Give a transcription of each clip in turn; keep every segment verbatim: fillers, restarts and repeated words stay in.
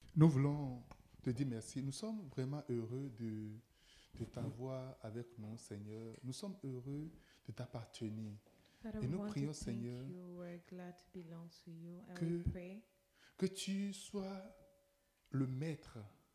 Nous voulons te dire merci. Nous sommes vraiment heureux de, de t'avoir avec nous, Seigneur. Nous sommes heureux de t'appartenir. Father, Et we nous want to prions, thank Seigneur, you. We're glad to belong to you. And que- we pray Que tu sois le maître,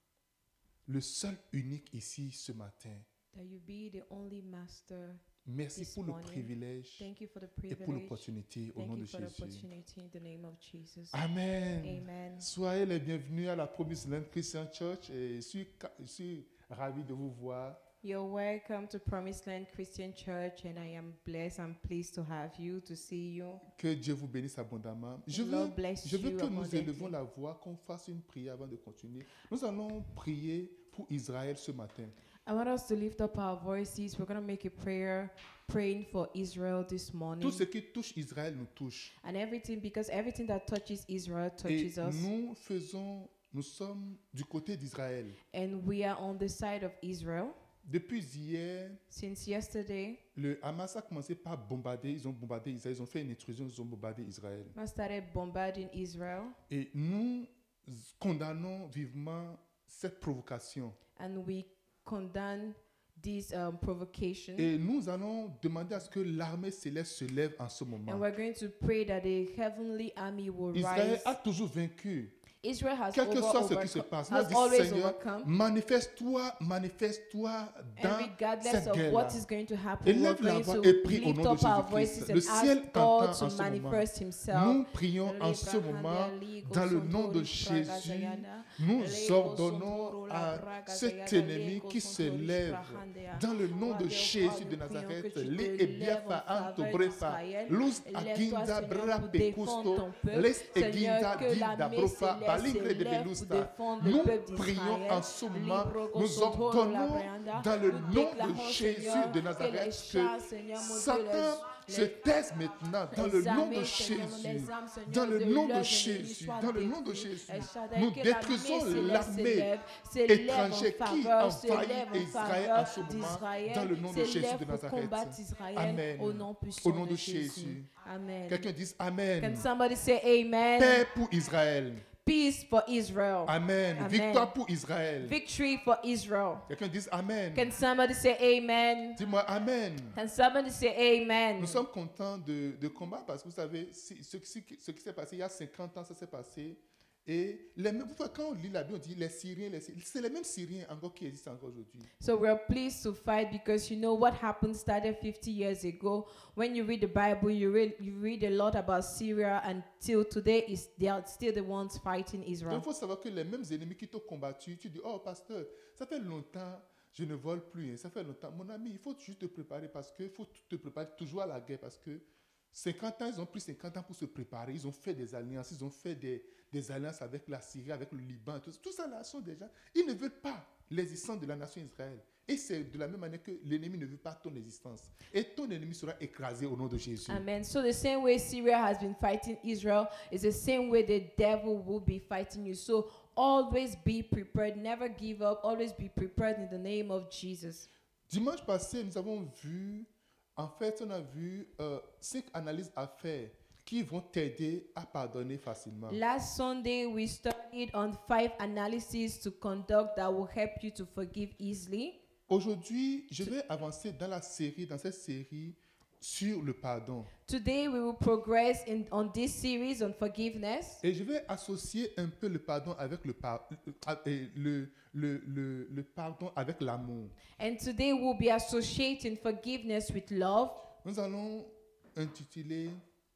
le seul unique ici ce matin. that you be the only master. Merci This pour le morning. privilège Thank you for the et pour privilege. l'opportunité au Thank nom you de for the Jésus. opportunity in the name of Jesus. Amen. Amen. Soyez les bienvenus à la Promised Land Christian Church et je suis, ca- je suis ravi de vous voir. You're welcome to Promised Land Christian Church, and I am blessed. I'm pleased to have you, to see you. Que Dieu vous bénisse abondamment. Je The veux, Lord bless je veux you que nous abundantly. élevons la voix, qu'on fasse une prière avant de continuer. Nous allons prier pour Israël ce matin. I want us to lift up our voices. We're going to make a prayer, praying for Israel this morning. Tout ce qui touche Israël nous touche. And everything, because everything that touches Israel Et touches us. nous faisons, nous sommes du côté d'Israël. And we are on the side of Israel. Depuis hier, Since yesterday, le Hamas a commencé par bombarder, ils ont bombardé Israël, ils ont fait une intrusion, ils ont bombardé Israël. I started bombarding Israel. Et nous condamnons vivement cette provocation. And we condemn this um, provocation. Et nous allons demander à ce que l'armée céleste se lève en ce And moment. we're going to pray that the heavenly army will Israël rise. a toujours vaincu. Israel has, Quel que over, soit ce qui overcome- se passe, nous has dit, always Seigneur, overcome. manifeste-toi, manifeste-toi And dans regardless cette of guerre-là. what is going to happen, we're Élève la going voix to et prie au lift nom de up our Jésus-Christ. voices Le and ciel ask t'entend God en to ce moment. manifest himself. Nous prions en ce moment, dans le nom de Jésus, nous ordonnons à cet ennemi qui se lève, dans le nom de Jésus de Nazareth, li ebiafa antobrefa, luz aginda brape custo, les eginda dinda brofa, balingre de belusta. Nous prions en ce moment, nous ordonnons dans le nom de Jésus de Nazareth que Satan se taise maintenant dans le nom de Jésus. Dans le nom de Jésus, dans le nom de Jésus, nous détruisons l'armée étrangère qui envahit Israël en ce moment, dans le nom de Jésus de Nazareth. Amen. Au nom Au puissant nom de de Jésus. Jésus. Amen. Quelqu'un dise Can Amen. somebody say amen? Paix pour Israël. Peace for Israel. Amen. Amen. Victoire pour Israël. Victory for Israel. Quelqu'un dise Amen. Can somebody say amen? Dis-moi Amen. Can somebody say amen? Nous sommes contents de, de combattre parce que vous savez, si- ce, qui- ce qui s'est passé il y a cinquante ans, ça s'est passé. Et les mêmes, vous voyez, quand on lit la Bible, on dit les Syriens, les Syriens, c'est les mêmes Syriens encore qui existent encore aujourd'hui. So we're pleased to fight because you know what happened started fifty years ago. When you read the Bible, you read you read a lot about Syria, and till today is they are still the ones fighting Donc Israel. il faut savoir que les mêmes ennemis qui t'ont combattu, tu dis, oh pasteur, ça fait longtemps, je ne vole plus, hein, ça fait longtemps. Mon ami, il faut juste te préparer parce qu'il faut te préparer toujours à la guerre parce que cinquante ans, ils ont pris cinquante ans pour se préparer, ils ont fait des alliances, ils ont fait des, des alliances avec la Syrie, avec le Liban, tout, tout ça là sont déjà, ils ne veulent pas l'existence de la nation Israël. Et c'est de la même manière que l'ennemi ne veut pas ton existence. Et ton ennemi sera écrasé au nom de Jésus. Amen. So the same way Syria has been fighting Israel is the same way the devil will be fighting you. So always be prepared, never give up, always be prepared in the name of Jesus. Dimanche passé, nous avons vu, en fait, on a vu euh, cinq analyses à faire qui vont t'aider à pardonner facilement. Last Sunday, we studied on five analyses to conduct that will help you to forgive easily. Aujourd'hui, je vais avancer dans la série, dans cette série sur le pardon. Today, we will progress in on this series on forgiveness. Et je vais associer un peu le pardon avec le, par- euh, euh, le, le, le, le pardon avec l'amour. And today, we'll be associating forgiveness with love. Nous allons intituler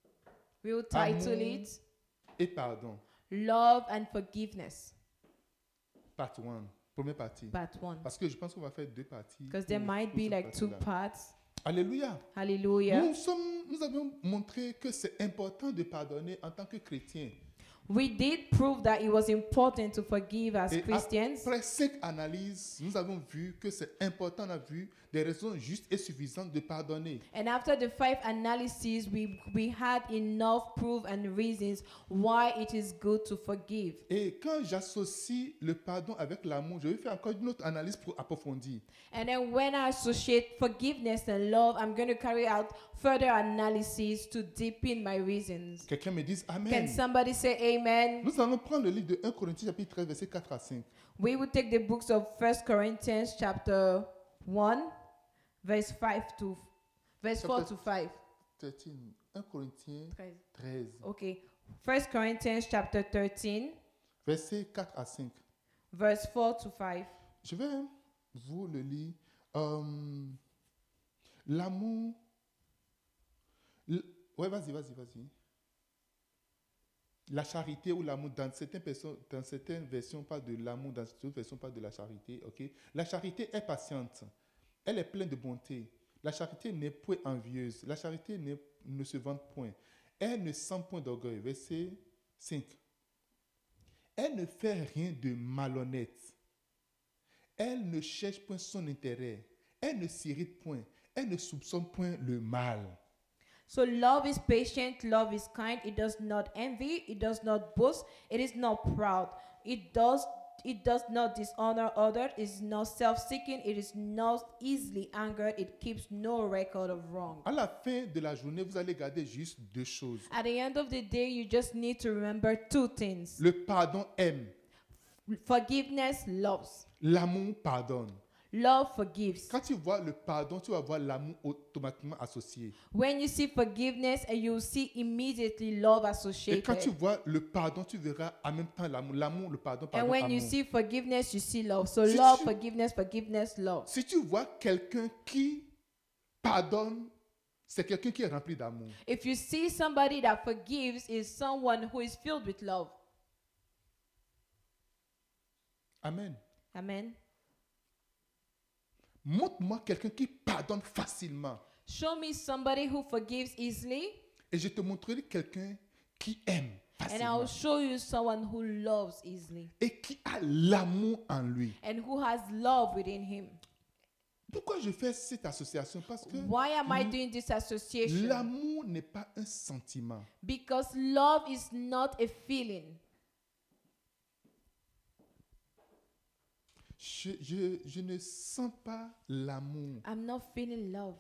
We will title Amour. it et pardon. Love and Forgiveness, Part one, première partie. part one. Parce que je pense qu'on va faire deux parties. Because there pour- might pour be cette like two partie-là. parts. Alléluia. Hallelujah. Nous, sommes, nous avons montré que c'est important de pardonner en tant que chrétien. We did prove that it was important to forgive as Et Christians. après cinq analyses, nous avons vu que c'est important, on a vu des raisons justes et suffisantes de pardonner. And after the five analyses, we, we had enough proof and reasons why it is good to forgive. Et quand j'associe le pardon avec l'amour, je vais faire encore une autre analyse pour approfondir. And then when I associate forgiveness and love, I'm going to carry out further analysis to deepen my reasons. Quelqu'un me dise Can Amen. somebody say Amen. Nous allons prendre le livre de un Corinthiens chapitre treize, versets quatre à cinq. We will take the books of First Corinthians chapter one, verse five to verse four to five. treize. un Corinthiens treize. Okay. First Corinthians chapter thirteen, versets quatre à cinq. verse four to five. Je vais vous le lire. Euh, l'amour. l- Ouais, vas-y, vas-y, vas-y. La charité ou l'amour, dans certaines, personnes, dans certaines versions, on parle de l'amour, dans d'autres versions, on parle de la charité. ok? La charité est patiente. Elle est pleine de bonté. La charité n'est point envieuse. La charité n'est- ne se vante point. Elle ne sent point d'orgueil. Verset cinq. Elle ne fait rien de malhonnête. Elle ne cherche point son intérêt. Elle ne s'irrite point. Elle ne soupçonne point le mal. So love is patient, love is kind, it does not envy, it does not boast, it is not proud, it does it does not dishonor others, it is not self-seeking, it is not easily angered, it keeps no record of wrong. À la fin de la journée, vous allez garder juste deux choses. At the end of the day, you just need to remember two things. Le pardon aime. Forgiveness loves. L'amour pardonne. Love forgives. Quand tu vois le pardon, tu vas voir l'amour automatiquement associé. When you see forgiveness, and you see immediately love Et quand tu associated. vois le pardon, tu verras en même temps l'amour. L'amour, le pardon, And pardon, when you amour. see forgiveness, you see love. So Si love, tu- forgiveness, forgiveness, love. Si tu vois quelqu'un qui pardonne, c'est quelqu'un qui est rempli d'amour. If you see somebody that forgives, is someone who is filled with love. Amen. Amen. Montre-moi quelqu'un qui pardonne facilement. Show me somebody who forgives easily, Et je te montrerai quelqu'un qui aime and facilement. I'll show you someone who loves easily Et qui a l'amour en lui. and who has love within him. Pourquoi je fais cette association? Parce que Why am I doing this association? l'amour n'est pas un sentiment. Because love is not a feeling. Je, je, je ne sens pas l'amour. I'm not feeling love.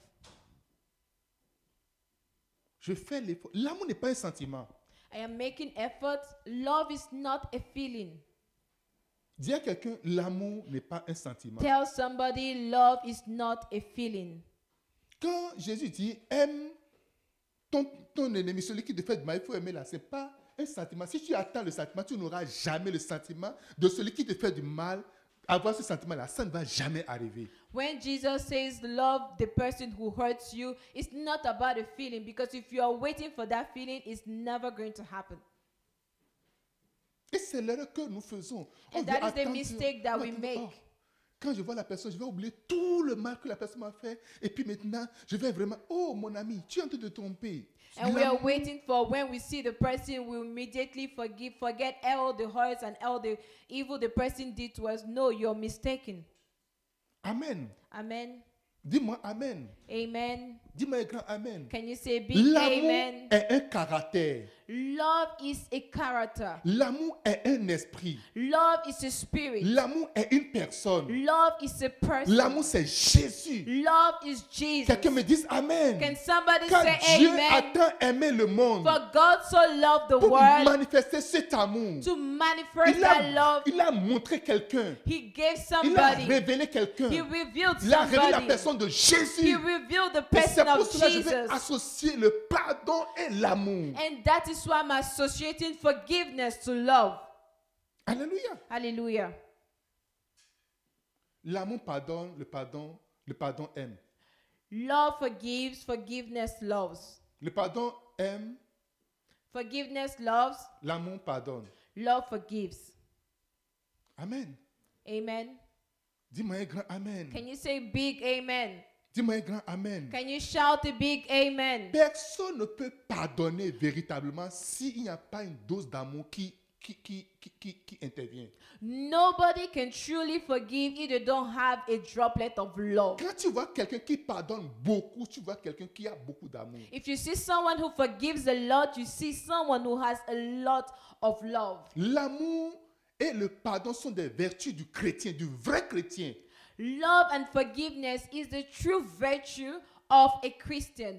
Je fais l'effort. L'amour n'est pas un sentiment. I am making effort. Love is not a feeling. Dis à quelqu'un, l'amour n'est pas un sentiment. Tell somebody love is not a feeling. Quand Jésus dit, aime ton, ton ennemi, celui qui te fait du mal, il faut aimer là. Ce n'est pas un sentiment. Si tu attends le sentiment, tu n'auras jamais le sentiment de celui qui te fait du mal. Avoir ce sentiment-là, ça ne va jamais arriver. When Jesus says love the person who hurts you, it's not about a feeling, because if you are waiting for that feeling, it's never going to happen. Et c'est l'erreur que nous faisons. On And veut that is the attendre- mistake that on we attend- make. oh, quand je vois la personne, je vais oublier tout le mal que la personne m'a fait. Et puis maintenant, je vais vraiment, oh mon ami, tu es en train de te tromper. And we are L'amour- waiting for when we see the person, we immediately forgive, forget all the hurts and all the evil the person did to us. No, you're mistaken. Amen. Amen. Dis-moi Amen. Amen. Dis-moi un grand Amen. Can you say big L'amour amen? est un caractère. Love is a character. L'amour est un esprit. Love is a spirit. L'amour est une personne. Love is a person. L'amour, c'est Jésus. Love is Jesus. Quelqu'un me dise Amen. Can somebody Car say Dieu amen? a tant aimé le monde For God so loved the pour world manifester cet amour. to manifest Il that a, love. il a montré quelqu'un. He gave Il a somebody. révélé quelqu'un. He revealed Il a révélé la somebody. personne de He Jésus. revealed the Et c'est person pour of cela que je vais Jesus. associer le pardon et l'amour. And that is why I'm associating forgiveness to love. Alléluia. Hallelujah. L'amour pardonne, le pardon, le pardon aime. Love forgives, forgiveness loves. Le pardon aime, Forgiveness loves, l'amour pardonne. love forgives. Amen. Amen. Dis-moi un grand Amen. Can you say big amen? Dis-moi un grand Amen. Can you shout a big amen? Personne ne peut pardonner véritablement s'il n'y a pas une dose d'amour qui, qui, qui, qui, qui, qui intervient. Nobody can truly forgive if they don't have a droplet of love. Quand tu vois quelqu'un qui pardonne beaucoup, tu vois quelqu'un qui a beaucoup d'amour. If you see someone who forgives a lot, you see someone who has a lot of love. L'amour et le pardon sont des vertus du chrétien, du vrai chrétien. Love and forgiveness is the true virtue of a Christian.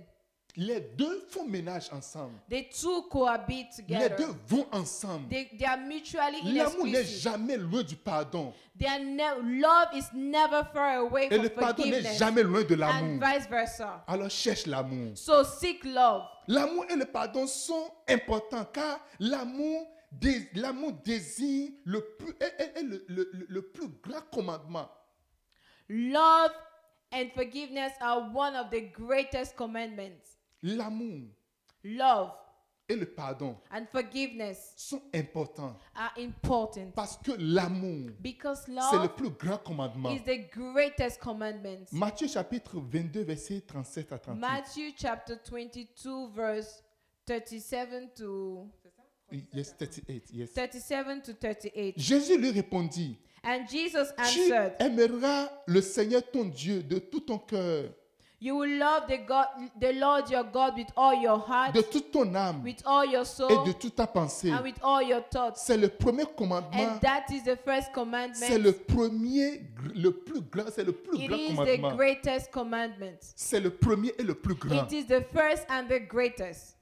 Les deux font ménage ensemble. The two cohabit Les together. deux vont ensemble. They, they are mutually L'amour n'est inexclusive. jamais loin du pardon. Their ne- love is never far away Et from le pardon n'est forgiveness, jamais loin de and l'amour. vice versa. Alors cherche l'amour. So seek love. L'amour et le pardon sont importants car l'amour, dé- l'amour désigne le plus, est- est- est le, le- le- le plus grand commandement. Love and forgiveness are one of the greatest commandments. L'amour Love et le pardon and forgiveness sont importants are important parce que l'amour, because c'est le love plus grand commandement. is the greatest commandment. Matthieu chapitre vingt-deux, versets trente-sept à trente-huit. Matthew chapter twenty-two, verse thirty-seven to Yes, thirty-eight, yes. thirty-seven to thirty-eight. Jésus lui répondit, And Jesus tu answered, aimeras le Seigneur ton Dieu de tout ton cœur, "You will love the God, the Lord your God, with all your heart, de toute ton âme with all your et soul, de toute ta pensée. and with all your thoughts." C'est le premier commandement. And that is the first C'est commandment. le premier, gr- le plus grand, c'est le plus It grand is the commandement. greatest commandment. C'est le premier et le plus grand. It is the first and the greatest.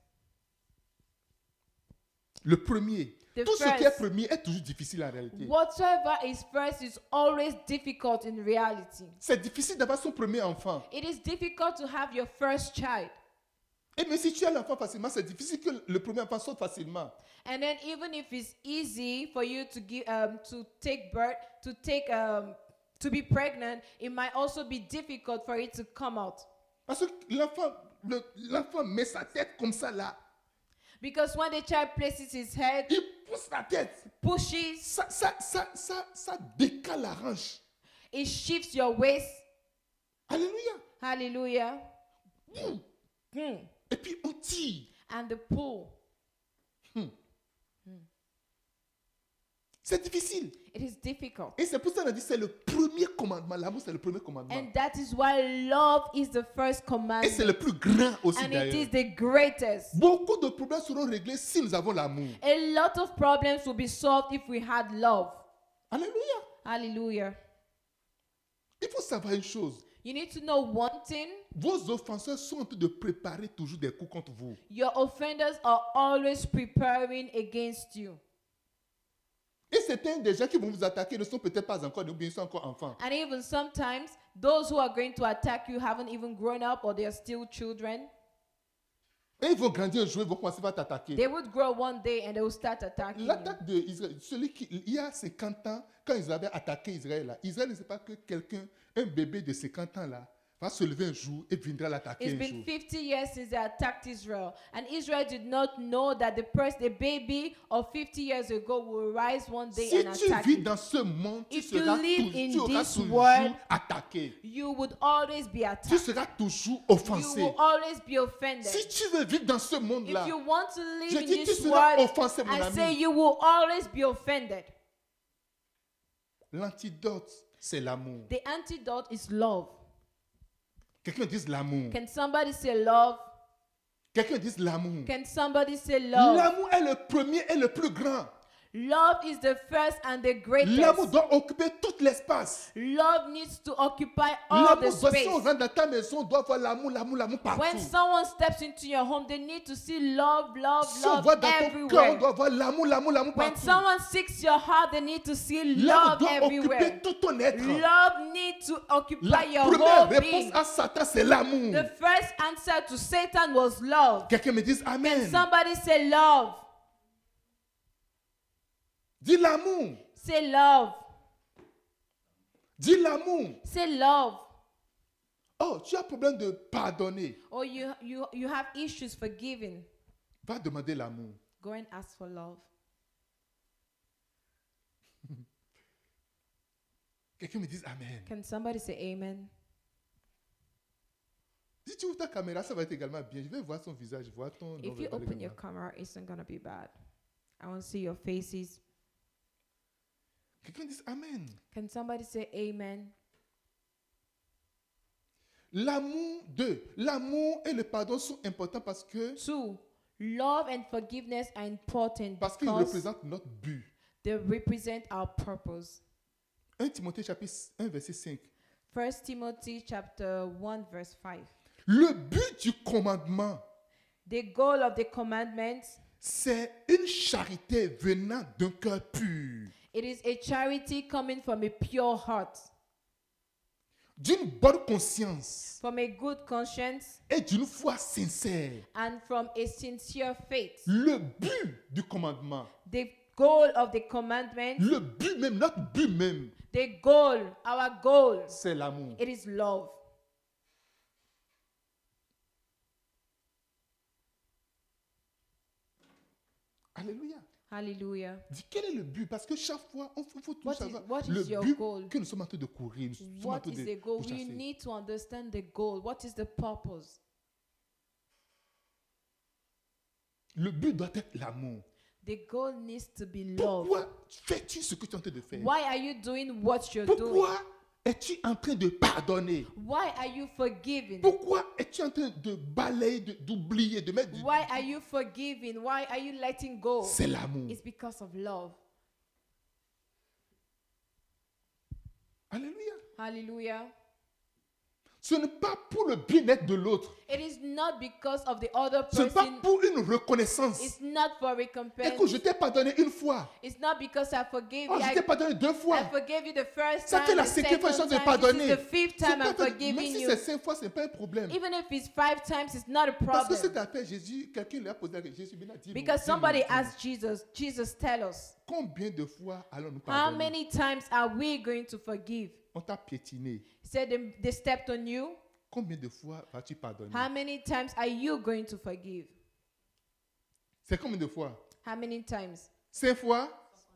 Le premier. The Tout ce qui est first. premier est toujours difficile en réalité. Whatsoever is first is always difficult in reality. C'est difficile d'avoir son premier enfant. It is difficult to have your first child. Et même si tu as l'enfant facilement, c'est difficile que le premier enfant sorte facilement. And then even if it's easy for you to give um, to take birth, to take um, to be pregnant, it might also be difficult for it to come out. Parce que l'enfant, le- l'enfant met sa tête comme ça là. Because when the child places his head, Il pousse la tête. pushes, Ça, ça, ça, ça, ça décale la hanche. it shifts your waist. Alléluia. Hallelujah. Boum. Hmm. Et puis on tire. And the pull. C'est difficile. It is difficult. Et c'est pour ça qu'on a dit c'est le premier commandement. L'amour, c'est le premier commandement. And that is why love is the first Et c'est commandment. le plus grand aussi And it is d'ailleurs. the greatest. Beaucoup de problèmes seront réglés si nous avons l'amour. A lot of problems will be solved if we had love. Alléluia. Hallelujah. Il faut savoir une chose. You need to know one thing. Vos offenseurs sont en train de préparer toujours des coups contre vous. Your offenders are always preparing against you. Et certains des gens qui vont vous attaquer ne sont peut-être pas encore, ou bien ils sont encore enfants. And even sometimes, those who are going to attack you haven't even grown up or they are still children. Et ils vont grandir un jour, ils vont commencer à t'attaquer. They would grow one day and they will start attacking you. L'attaque d'Israël, celui qui, il y a cinquante ans, quand ils avaient attaqué Israël, là, Israël ne sait pas que quelqu'un, un bébé de cinquante ans, là, va se lever un jour et viendra l'attaquer It's un been jour. fifty years since they attacked Israel. And Israel did not know that the person, the baby of fifty years ago will rise one day Si and tu attack vis you. dans ce monde, tu If you seras, live tou- in tu auras this toujours world, attaqué. You would always be Tu attacked. seras toujours You offensé. will always be offended. Si tu veux vivre dans ce If monde-là, you want to live je in dis tu this seras world, offensé, mon I say ami. you will always be offended. L'antidote, c'est l'amour. The antidote is love. Quelqu'un dise l'amour. Can somebody say love? Quelqu'un dise l'amour. Can somebody say love? L'amour est le premier et le plus grand. Love is the first and the L'amour greatest. doit occuper tout l'espace. Love needs to occupy all the L'amour, si on space. rentre dans ta maison, on doit voir l'amour, l'amour, l'amour partout. When someone steps into your home, they need to see love, love, Si on love voit dans ton cœur, on everywhere. doit voir l'amour, l'amour, l'amour When partout. someone seeks your heart, they need to see L'amour love doit everywhere. occuper tout ton être. Love needs to occupy La your première whole réponse being. à Satan, c'est l'amour. The first answer to Satan was love. Quelqu'un me dise Amen. Somebody say love. Dis l'amour. Say love. Dis l'amour. Say love. Oh, tu as problème de pardonner. Or you, you, you have issues forgiving. Va demander l'amour. Go and ask for love. Quelqu'un me dise Amen. Can somebody say amen? Si tu ouvres ta caméra, ça va être également bien. Je vais voir son visage, voir ton nom. If you open your camera, it's not going to be bad. I want to see your faces. Quelqu'un dise Amen. Can somebody say amen? L'amour, deux. L'amour et le pardon sont importants parce que Two, love and forgiveness are important parce qu'ils because représentent notre but. they represent our purpose. un Timothée chapitre un verset cinq. First Timothy chapter one verse five. Le but du commandement, The goal of the commandments, c'est une charité venant d'un cœur pur, it is a charity coming from a pure heart, d'une bonne conscience from a good conscience, et d'une foi sincère. and from a sincere faith. Le but du commandement, The goal of the commandment, le but même, notre but même, the goal, our goal, c'est l'amour. it is love. Alléluia. Hallelujah. Dis, quel est le but? Parce que chaque fois, on faut, faut tout What is- savoir. what is Le your but goal? que nous sommes en train de courir, nous sommes en What train is de the goal? We pourchasser. need to understand the goal. What is the purpose? Le but doit être l'amour. The goal needs to be love. Pourquoi fais-tu ce que tu es en train de faire? Why are you doing what you're doing? Pourquoi es-tu en train de pardonner? Why are you forgiving? Pourquoi es-tu en train de balayer, de- d'oublier, de mettre du... Why are you forgiving? Why are you letting go? C'est l'amour. It's because of love. Alléluia. Hallelujah. Ce n'est pas pour le bien-être de l'autre. It is not because of the other Ce n'est pas person. pour une reconnaissance. It's not for recompense. Écoute, je t'ai pardonné une fois. It's not because I forgave Oh, you. je I, t'ai pardonné deux I fois. forgave you the first Ça time, fait la the cinquième fois que je second suis en train de time. This pardonner. is the fifth C'est time pas I'm de- Même forgiving si you. c'est cinq fois, ce n'est pas un problème. Even if it's five times, it's not a Parce que cette problem. affaire, Jésus, quelqu'un lui a posé la question. Jésus bien a dit, Because somebody asked Jesus, Jesus, tell us, combien de fois allons-nous how pardonner? many times are we going to forgive? On t'a piétiné. He said they, they stepped on you. Combien de fois vas-tu pardonner? How many times are you going to forgive? C'est combien de fois? How many times? Cinq fois?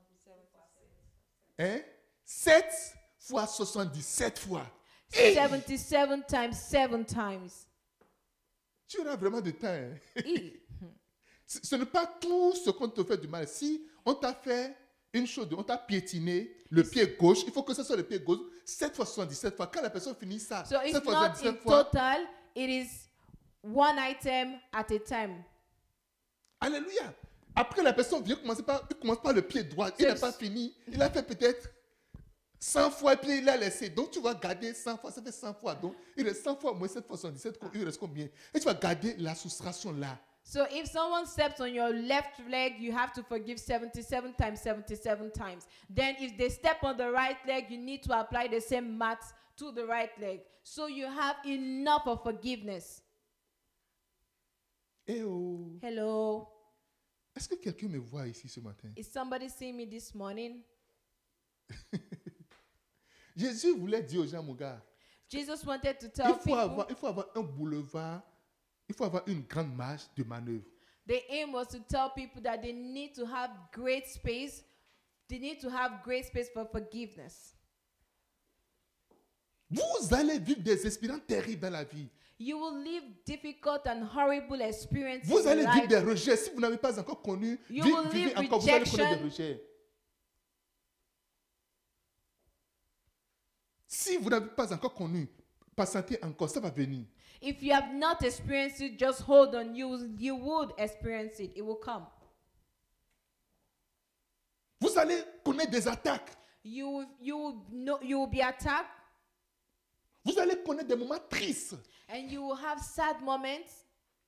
Hein? Sept fois soixante-dix-sept fois. Hey! seventy-seven times, seven times. Tu auras vraiment du temps. Hein? E. Ce ce n'est pas tout ce qu'on te fait du mal. Si on t'a fait une chose, on t'a piétiné le pied gauche, il faut que ce soit le pied gauche, sept fois soixante-dix-sept fois. Quand la personne finit ça, So it's sept fois not in soixante-dix-sept fois, total, it is one item at a time. alléluia. Après, la personne vient commencer par, il commence par le pied droit. Il n'a C'est- pas fini. Il a fait peut-être cent fois et puis il a laissé. Donc, tu vas garder cent fois. Ça fait cent fois. Donc, il reste cent fois moins sept fois soixante-dix-sept. Il reste combien? Et tu vas garder la soustraction là. So if someone steps on your left leg, you have to forgive seventy-seven times, seventy-seven times. Then if they step on the right leg, you need to apply the same maths to the right leg. So you have enough of forgiveness. Eh oh. Hello. Est-ce que quelqu'un me voit ici ce matin? Is somebody seeing me this morning? Jésus voulait dire aux gens, mon gars, Jesus wanted to il tell faut, people avoir, il faut avoir un boulevard, il faut avoir une grande marge de manœuvre. the aim was to tell people that they need to have great space. They need to have great space for forgiveness. Vous allez vivre des expériences terribles dans la vie. You will live difficult and horrible experiences Vous in allez vivre life. des rejets. Si vous n'avez pas encore connu, You vi- will vivez live encore, vous allez connaître rejection. des rejets. Si vous n'avez pas encore connu, patientez encore, ça va venir. If you have not experienced it, just hold on. You, you would experience it. It will come. Vous allez connaître des attaques. You, will- you, will know, you will be attacked Vous allez connaître des moments tristes. and you will have sad moments.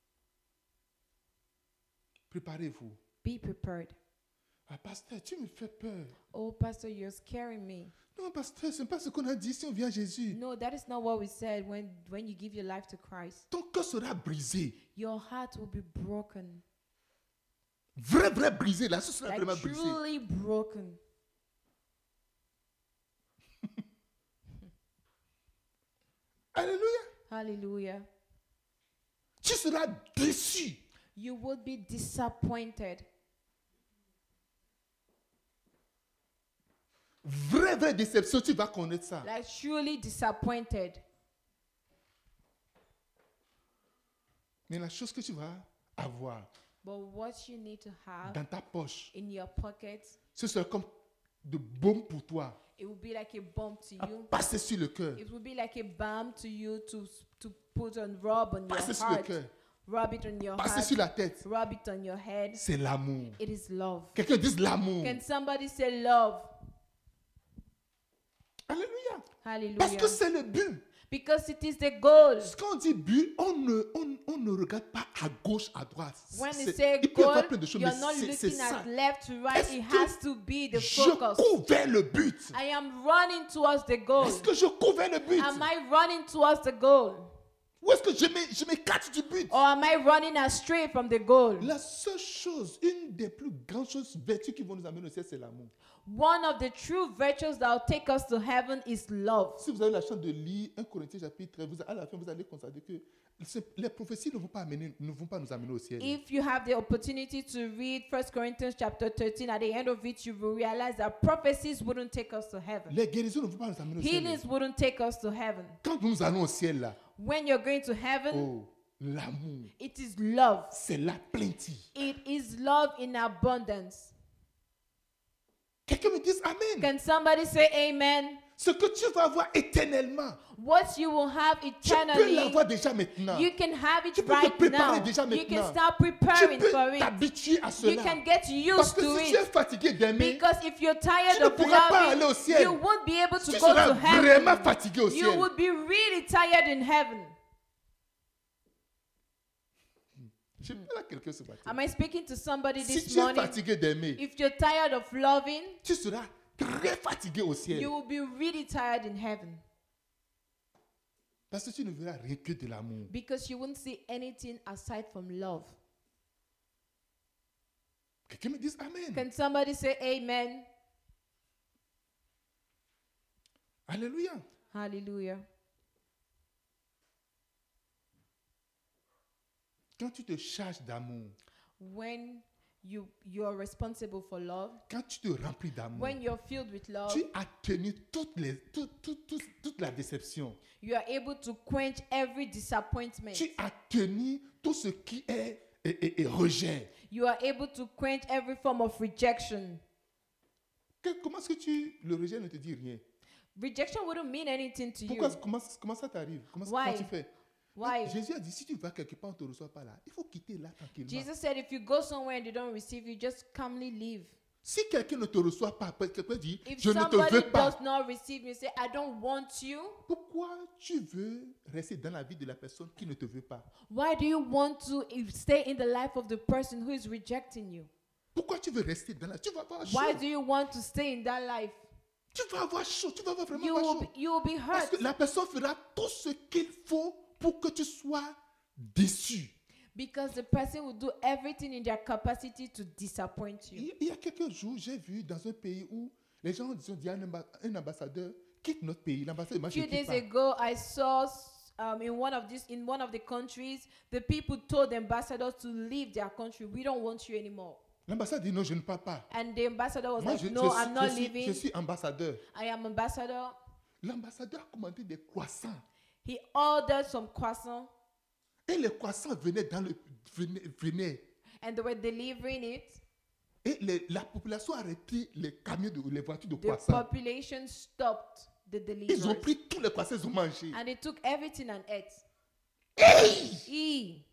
Préparez-vous. Be prepared. Ah, pasteur, tu me fais peur. Oh, Pastor, you're scaring me. Non, pasteur, ce n'est pas ce qu'on a dit si on vient à Jésus. No, that is not what we said when, when you give your life to Christ. Ton cœur sera brisé. Your heart will be broken. Vrai, vrai brisé. Là, ce sera Like vraiment brisé. truly broken. Alléluia. Hallelujah. Tu seras déçu. You would be disappointed. Vraie, vraie déception, tu vas connaître ça. Like truly disappointed. Mais la chose que tu vas avoir But what you need to have dans ta poche, in your pocket, ce sera comme de baume pour toi, it will be like a balm to à you. passer sur le cœur. It will be like a balm to you to to put on, rub on your Passer sur le heart, cœur. rub it on your Passer heart, sur la tête. rub it on your head. C'est l'amour. It is love. Quelqu'un dise l'amour. Can somebody say love? Alléluia. Hallelujah. Parce que c'est le but. Because it is the goal. Quand on dit but, on ne, on, on ne regarde pas à gauche, à droite. When C'est- you say il peut y avoir goal, plein de choses, you're mais not c'est- c'est looking ça. at left to right. Est-ce It que has to be the Je focus. cours vers le but. I am running towards the goal. Est-ce que je cours vers le but? Am I running towards the goal? Ou est-ce que je m'é- je m'écarte du but? Or am I running astray from the goal? La seule chose, une des plus grandes choses, vertus qui vont nous amener au ciel, c'est l'amour. One of the true virtues that will take us to heaven is love. Si vous avez la chance de lire un Corinthiens chapitre treize, vous, à la fin, vous allez constater que ce- les prophéties ne vont pas, amener, ne vont pas nous amener au ciel. If you have the opportunity to read First Corinthians chapter thirteen, at the end of it, you will realize that prophecies wouldn't take us to heaven. Les guérisons ne vont pas nous amener au ciel. Healings wouldn't take us to heaven. Quand nous allons au ciel, là, When you're going to heaven, oh, l'amour, it is love. c'est la plenty. It is love in abundance. Quelqu'un me dise Amen. Can somebody say amen? Ce que tu vas avoir éternellement, What you will have tu peux eternally, l'avoir déjà maintenant. you can have it Tu peux te right préparer now. déjà You can maintenant. start Tu preparing peux for it. t'habituer à You cela. can get Parce used que to si tu es it. fatigué d'aimer, Because if you're tired tu ne of pourras pas aller au loving, ciel. you won't be able to tu go seras to vraiment heaven. fatigué au You ciel. would be really tired in heaven. Je parle à quelqu'un ce matin. Am I speaking to somebody Si this tu es morning? fatigué d'aimer, If you're tired of loving, tu seras très fatigué au ciel. you will be really tired in heaven. Parce que tu ne verras rien que de l'amour. Because you won't see anything aside from love. Quelqu'un me dise Amen. Can somebody say amen? Alléluia. Hallelujah. Quand tu te charges d'amour, When you you're responsible for love, quand tu te remplis d'amour, when you're filled with love, tu as tenu toutes les, tout- tout- tout- toute la déception. you are able to quench every disappointment. Tu as tenu tout ce qui est, est- est- est rejet. You are able to quench every form of rejection. Que- comment est-ce que tu, le rejet ne te dit rien? Rejection wouldn't mean anything to Pourquoi, you. comment, comment ça t'arrive? Comment, Why? comment tu fais? Why? Jésus a dit, si tu vas quelque part, on ne te reçoit pas là. Il faut quitter là tranquillement. Jesus said, if you go somewhere and they don't receive you, just calmly leave. Si quelqu'un ne te reçoit pas, quelqu'un dit, If je ne te somebody veux pas. does not receive you, say, I don't want you. Pourquoi tu veux rester dans la vie de la personne qui ne te veut pas? Why do you want to if- stay in the life of the person who is rejecting you? Pourquoi tu veux rester dans la... Tu vas avoir chaud. Why do you want to stay in that life? Tu vas avoir chaud. Tu vas avoir vraiment You avoir will chaud. be, you will be Parce hurt que la personne fera tout ce qu'il faut pour que tu sois déçu. because the person will do everything in their capacity to disappoint you. Il il y a quelques jours, j'ai vu dans un pays où les gens ont dit un, amba- un ambassadeur quitte notre pays. L'ambassadeur, moi, A je few ne quitte days pas. ago, I saw um, in one of these in one of the countries, the people told the ambassadors to leave their country. We don't want you anymore. L'ambassadeur dit non, je ne pars pas. And the ambassador was Moi, like, je, "No, je I'm suis- not je suis, leaving. je suis ambassadeur. I am ambassador." L'ambassadeur a commandé des croissants. He ordered some croissants, Et les croissants venaient dans le... Venaient, venaient. and they were delivering it. Et les- la population a arrêté les camions, de, les voitures de The croissants. population stopped the Ils ont delivery, pris tous les croissants, ils ont mangé. and they took everything and ate. E.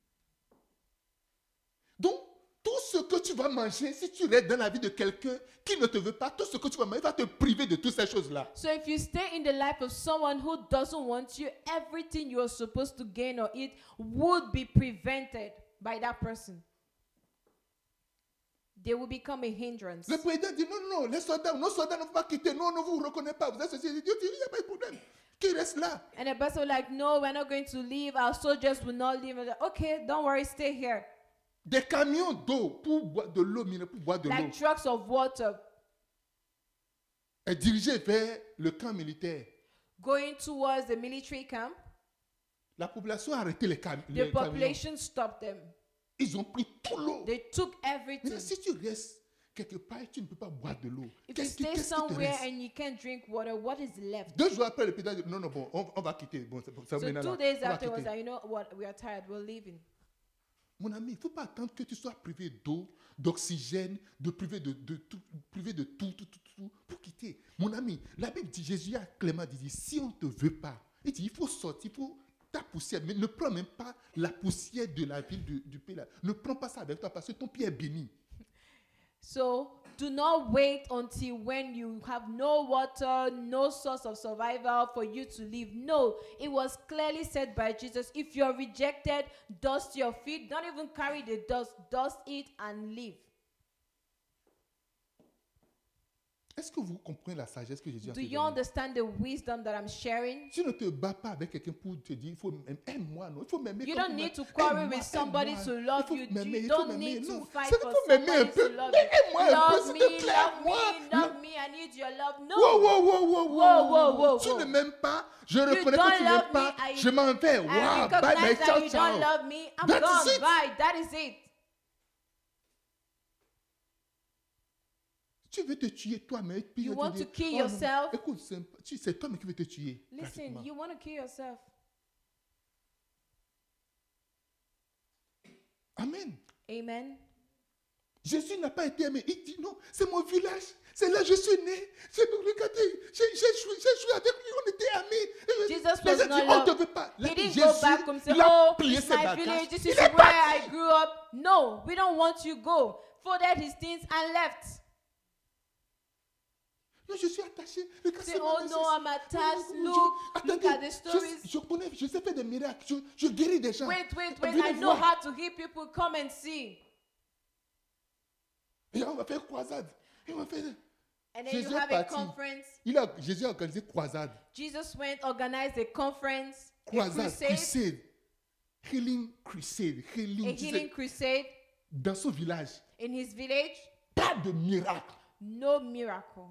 Donc, tout ce que tu vas manger, si tu restes dans la vie de quelqu'un qui ne te veut pas, tout ce que tu vas manger, il va te priver de toutes ces choses-là. So if you stay in the life of someone who doesn't want you, everything you are supposed to gain or eat would be prevented by that person. They will become a hindrance. Le président dit non, non, les soldats, nos soldats ne vont pas quitter. Non, non, vous ne vous reconnaissez pas. Vous êtes ceci. Il dit, il n'y a pas de problème. Qui reste là? And the person was like, no, we're not going to leave. Our soldiers will not leave. And they're like, okay, don't worry, stay here. Des camions d'eau pour boire de l'eau, minérale, pour boire de l'eau, Like trucks of water est dirigé vers le camp militaire. going towards the military camp. La population a arrêté les, cam- The les camions. population stopped them. Ils ont pris tout l'eau. They took everything. Mais si tu restes quelque part et tu ne peux pas boire de l'eau, If you qu'est-ce qui, stay qu'est-ce qui te somewhere reste? and you can't drink water, what is left? Deux jours après, le président dit non, non, bon, on, on va quitter. Bon, c'est, c'est So maintenant two là. days On va after, was quitter. like, you know what? We are tired. We're leaving. Mon ami, il ne faut pas attendre que tu sois privé d'eau, d'oxygène, de privé de, de tout, privé de tout, tout, tout, tout, pour quitter. Mon ami, la Bible dit, Jésus a clairement dit, si on ne te veut pas, il dit, il faut sortir, il faut ta poussière, mais ne prends même pas la poussière de la ville du, du pays là. Ne prends pas ça avec toi parce que ton pied est béni. So Do not wait until when you have no water, no source of survival for you to live. No, it was clearly said by Jesus, if you're rejected, dust your feet. Don't even carry the dust. Dust it and live. Est-ce que vous comprenez la sagesse que Jésus a Do fait you donner? understand the wisdom that I'm sharing? Tu ne te bats pas avec quelqu'un pour te dire, il faut m'aimer. Aime-moi, non. Il faut m'aimer. You comme don't tu need to m'aimes. quarrel Aime-moi, with somebody aime-moi. to Il love faut you. m'aimer, You il faut don't m'aimer. need to Non, fight c'est qu'il for faut m'aimer un somebody peu. to love Mais you. aime-moi un peu, Love s'il me, te plaît. love Moi. me, love me. I need your love. No. Wow, wow, wow, wow, Whoa, whoa, whoa, Tu whoa. ne m'aimes pas. Je You reconnais don't que tu love n'aimes pas. me, I- Je m'en vais. I Wow, bye bye. recognize that Ciao, you don't ciao. love me. I'm That is gone. it. Bye. That is it. Tu veux te tuer toi-même. Puis You je te want dis, to kill oh non, yourself? écoute, c'est- tu- c'est toi-même qui veux te tuer. Listen, pratiquement. you want to kill yourself. Amen. Amen. Jésus n'a pas été aimé. Il dit non, c'est mon village. C'est là que je suis né. C'est, regardez, j'ai, j'ai, joué, j'ai joué avec lui, on était amis. Jesus Les was gens not disent, on ne loved. te veut pas. Là, He didn't Jésus, go back and say, il a oh, plié it's ses my bagages. village. This Il is est where parti. I grew up. No, we don't want you go. Folded his things and left. Non, je suis attaché. Regarde, Say, c'est oh ma- no, I'm attached. Je- Look, Attendez, look at the je, stories. je connais, je sais faire des miracles. Je, je guéris des gens. Wait, wait, wait. Venez I know voir. how to heal people. Come and see. Et là, on va faire croisade. Et on va faire... And then Jésus you est have a parti. conference. Il a, Jésus a organisé croisade. Jesus went, organized a conference, a Croisade, crusade, crusade. Healing crusade. Healing, a tu sais, healing crusade dans son village. in his village. Pas de miracle. No miracle.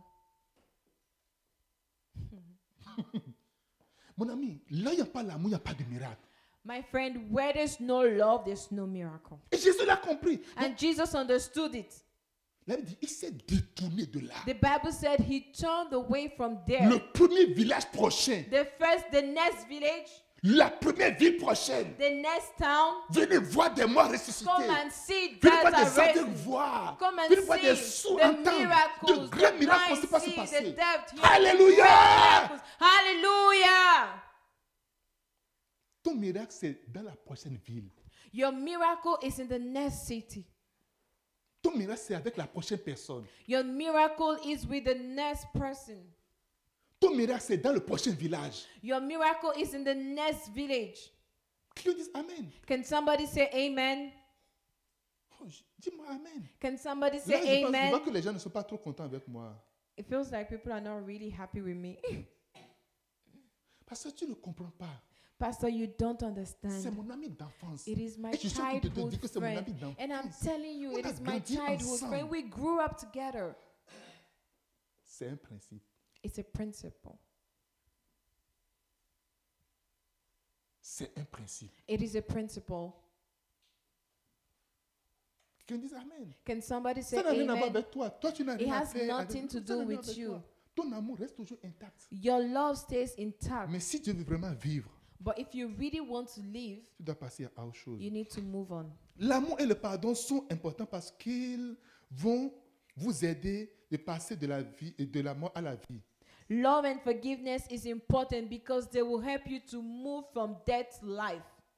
Mon ami, là, il n'y a pas l'amour, il n'y a pas de miracle. My friend, where there's no love, there's no miracle. Et Jésus l'a compris. And Jesus understood it. Là, il dit, il s'est détourné de là. The Bible said he turned away from Le there. premier village prochain, The first, the next village, la première ville prochaine, the next town. venez voir des morts ressuscités. Come and see Venez voir that des are aveugles risen. voir. Come and Venez voir des see sourds the entendre. miracles, De grands the miracles blind ne pas se see, the passer. deaf hear, Alléluia! the miracles. Hallelujah! Ton miracle, c'est dans la prochaine ville. Your miracle is in the next city. Ton miracle, c'est avec la prochaine personne. Your miracle is with the next person. Ton miracle, c'est dans le prochain village. Your miracle is in the next village. Quelqu'un dit Amen. Can somebody say amen? Oh, j- dis-moi Amen. Can somebody Là, say je, pense, je amen? vois que les gens ne sont pas trop contents avec moi. It feels like people are not really happy with me. Parce que tu ne comprends pas. Pastor, you don't C'est understand. mon ami d'enfance. It is my Et je suis en train de te childhood dire que c'est mon friend. ami And I'm d'enfance. telling you, On it a is my grandi childhood ensemble. friend. We grew up together. C'est un principe. It's a principle. C'est un principe. It is a principle. Quelqu'un dit Amen. Can somebody say Ça n'a rien à voir amen? avec toi. Toi, tu n'as It rien à has faire avec nothing to ça n'a do rien with avec you. toi. Ton amour reste toujours intact. Your love stays intact. Mais si Dieu veut vraiment vivre, But if you really want to live, tu dois passer à autre chose. you need to move on. L'amour et le pardon sont importants parce qu'ils vont vous aider de passer de la vie et de la mort à la vie. Love and forgiveness is important because they will help you to move from death to life.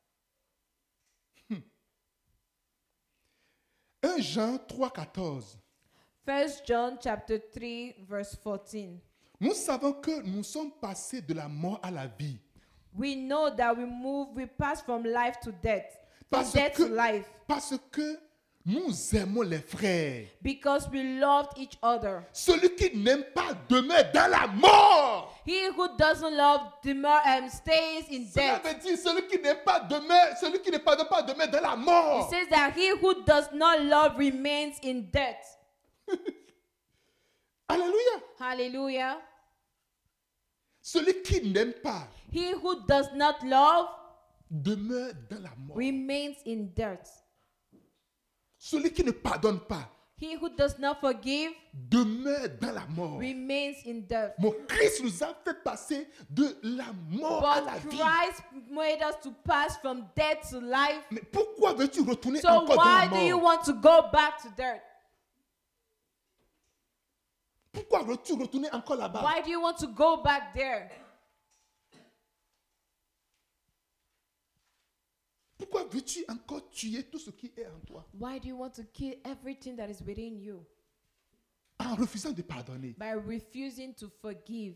premier Jean trois, quatorze. First John chapter three verse fourteen. Nous savons que nous sommes passés de la mort à la vie. We know that we move, we pass from life to death, from Parce death to que, life, parce que nous aimons les frères. because we loved each other. Celui qui n'aime pas demeure dans la mort. He who doesn't love demur, um, stays in Cela death. veut dire celui qui n'aime pas demeure, celui qui ne pardonne pas demeure dans la It mort. says that he who does not love remains in death. Alléluia. Hallelujah. Celui qui n'aime pas He who does not love demeure dans la mort. remains in death. Celui qui ne pardonne pas He who does not forgive demeure dans la mort. remains in death. Mon Christ nous a fait passer de la mort à la But vie. Christ made us to pass from death to life. Mais pourquoi veux-tu retourner So encore dans la why do you mort? want to go back to dirt? Pourquoi veux-tu retourner encore là-bas? Why do you want to go back there? Pourquoi veux-tu encore tuer tout ce qui est en toi? Why do you want to kill everything that is within you? en refusant de pardonner. by refusing to forgive.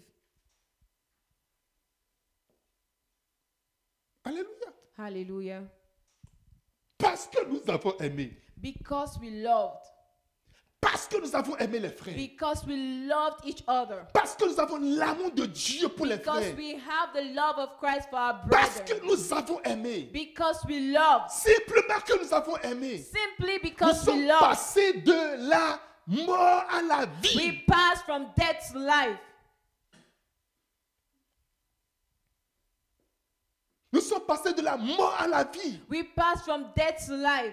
Alléluia. Hallelujah. Parce que nous avons aimé. Because we loved. Parce que nous avons aimé les frères. Because we loved each other. Parce que nous avons l'amour de Dieu pour les Because frères. we have the love of Christ for our Parce brethren. que nous avons aimé. Because we love. Simplement que nous avons aimé. Simply Nous because we sommes love. passés de la mort à la vie. We pass from death to life. Nous sommes passés de la mort à la vie. We pass from death to life.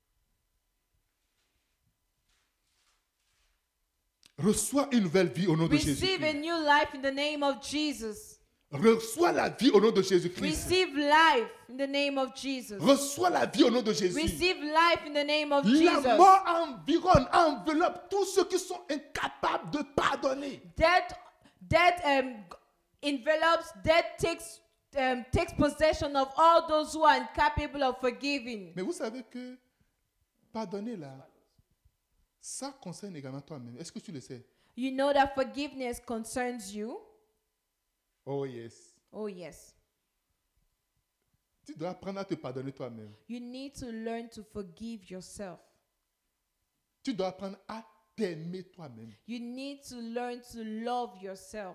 Reçois une nouvelle vie au nom de Receive a Jésus. new life in the name of Jesus. Reçois la vie au nom de Jésus-Christ. Receive life in the name of Jesus. Reçois la vie au nom de Jésus. Receive life in the name of La Jesus. mort environne, enveloppe tous ceux qui sont incapables de pardonner. Death, death um, envelops, death takes, um, takes possession of all those who are incapable of forgiving. Mais vous savez que pardonner là, ça concerne également toi-même. Est-ce que tu le sais? You know that forgiveness concerns you? Oh yes. Oh, yes. Tu dois apprendre à te pardonner toi-même. You need to learn to forgive yourself. Tu dois apprendre à t'aimer toi-même. You need to learn to love yourself.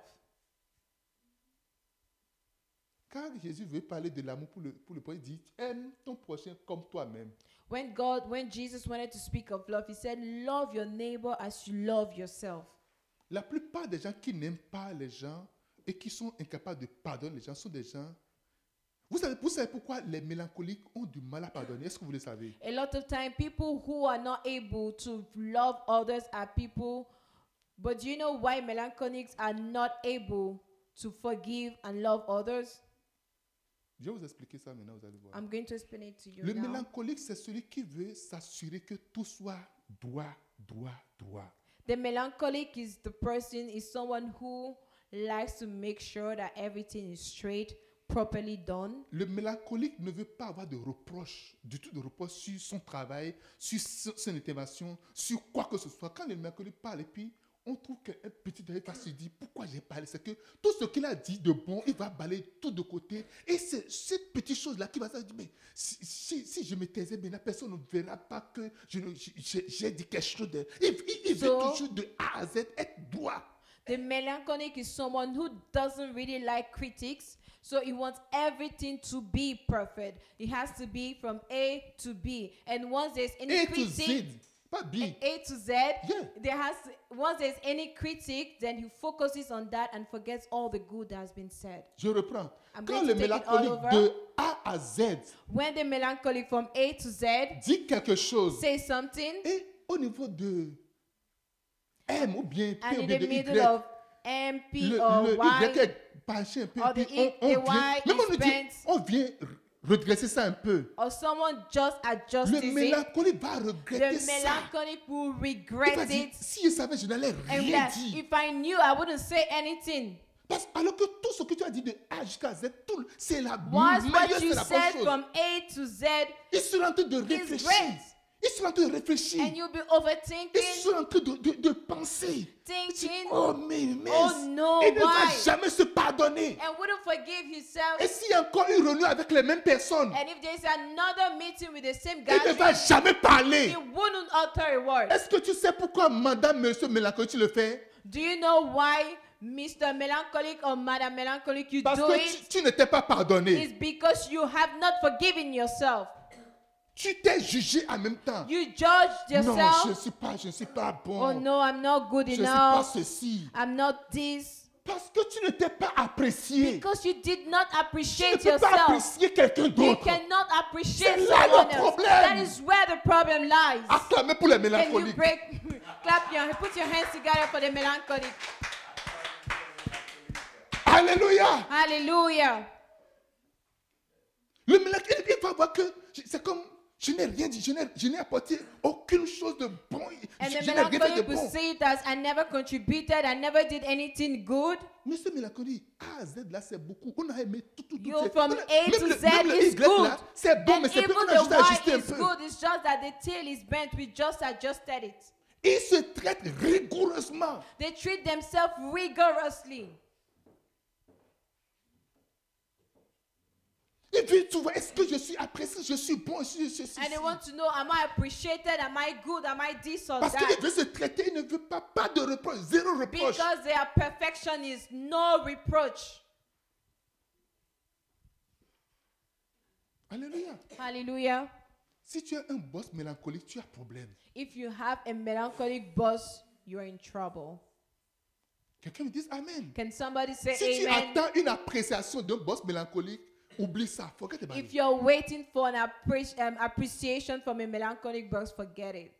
Quand Jésus veut parler de l'amour pour le, pour le prochain, il dit aime ton prochain comme toi-même. When God, when Jesus wanted to speak of love, he said, love your neighbor as you love yourself. La plupart des gens qui n'aiment pas les gens et qui sont incapables de pardonner les gens sont des gens. Vous savez, vous savez pourquoi les mélancoliques ont du mal à pardonner? Est-ce que vous le savez? A lot of time, people who are not able to love others are people, but do you know why melancholics are not able to forgive and love others? Je vais vous expliquer ça maintenant, vous allez voir. I'm going to explain it to you Le now. mélancolique, c'est celui qui veut s'assurer que tout soit droit, droit, droit. The melancholic is the person, is someone who likes to make sure that everything is straight, properly done. Le mélancolique ne veut pas avoir de reproches, du tout de reproches sur son travail, sur son intervention, sur quoi que ce soit. Quand le mélancolique parle et puis on trouve qu'un petit détail va se dire pourquoi j'ai parlé, c'est que tout ce qu'il a dit de bon, il va balayer tout de côté. Et c'est cette petite chose-là qui va se dire, mais si, si, si je me taisais, bien, la personne ne verra pas que je, je, j'ai, j'ai dit quelque chose de... Il, il, il So, veut toujours de A à Z être droit. The melancholic is someone who doesn't really like critics, so he wants everything to be perfect. It has to be from A to B. And once there's any A to critic, Z, pas B. A to Z, Yeah. there has to, once there's any critic, then he focuses on that and forgets all the good that has been said. Je reprends. I'm Quand going le to take it all mélancolique over. de A à Z When the melancholic from A to Z dit quelque chose, says something, et au niveau de M ou bien P and ou in bien the de middle Y, of M, P, le, or le Y, Y est penché un peu, or puis the on, E- on the vient, Y même on, is nous dit, bent. on vient redresser ça un peu. or someone just adjusts Le it, mélancolique va regretter the ça. melancholic will Il va regret dire, it. si je savais, je n'allais And rien that dire. if I knew, I wouldn't say anything. Parce, alors que tout ce que tu as dit de A jusqu'à Z, tout, c'est la Once meilleure, what c'est you la bonne said chose. from A to Z, Ils sont en train de is réfléchir. great. Ils sont en train de réfléchir. And you'll be Ils overthinking, sont en train de, de, de penser. thinking, Oh, mais, mais oh no, il ne va why? jamais se pardonner. and wouldn't forgive himself. Et s'il y a encore une réunion avec les mêmes personnes, And if there's another meeting with the same il ne guy, va jamais parler. he wouldn't utter a word. Est-ce que tu sais pourquoi Madame, Monsieur Mélancolique, tu le fais? Do you know why, Mister Melancholic or Madam Melancholic, you Parce do que it? tu, tu ne t'es pas pardonné. It's because you have not forgiven yourself. Tu t'es jugé en même temps. You judged Non, je ne yourself. suis pas, je ne suis pas bon. Oh no, I'm not good Je ne suis pas enough. ceci. I'm not this. Parce que tu ne t'es pas apprécié. Because you did not Tu ne appreciate peux pas yourself. apprécier quelqu'un You d'autre. cannot appreciate C'est là le someone else. problème. That is where the problem lies. Acclamez pour les Can you mélancoliques. break, clap your, put your hands together for the melancholic. Alléluia. Hallelujah. Le mélancolique, il va voir que c'est comme, je n'ai rien dit, je n'ai, je n'ai apporté aucune chose de bon. And Je, the je n'ai rien fait de melancholic will bon. see it as I never contributed, I never did anything good. Monsieur Mélancolique, A à Z là, c'est beaucoup. On a aimé tout, tout, tout. You c'est- from même A le- to même Z le is Y good. là, c'est bon, And mais c'est even plus, on a the juste ajusté un Y is peu. good. It's just that the tail is bent. We just adjusted it. Il se traite rigoureusement rigoureusement. They treat themselves rigorously. Ils veulent tout voir. Est-ce que je suis apprécié? Je suis bon? Je suis, je suis, And they want to know, am I appreciated? Am I good? Am I this or Parce qu'ils that? veulent se traiter, ils ne veulent pas, pas de reproche, zéro reproche. Because they are perfectionists, no reproach. Alléluia. Hallelujah. Si tu as un boss mélancolique, tu as problème. If you have a melancholic boss, you are in trouble. Quelqu'un me dise Amen. Can somebody say Si tu amen? attends une appréciation d'un boss mélancolique, oublie ça. Forget about If it. you're waiting for an appre- um, appreciation from a melancholic boss, forget it.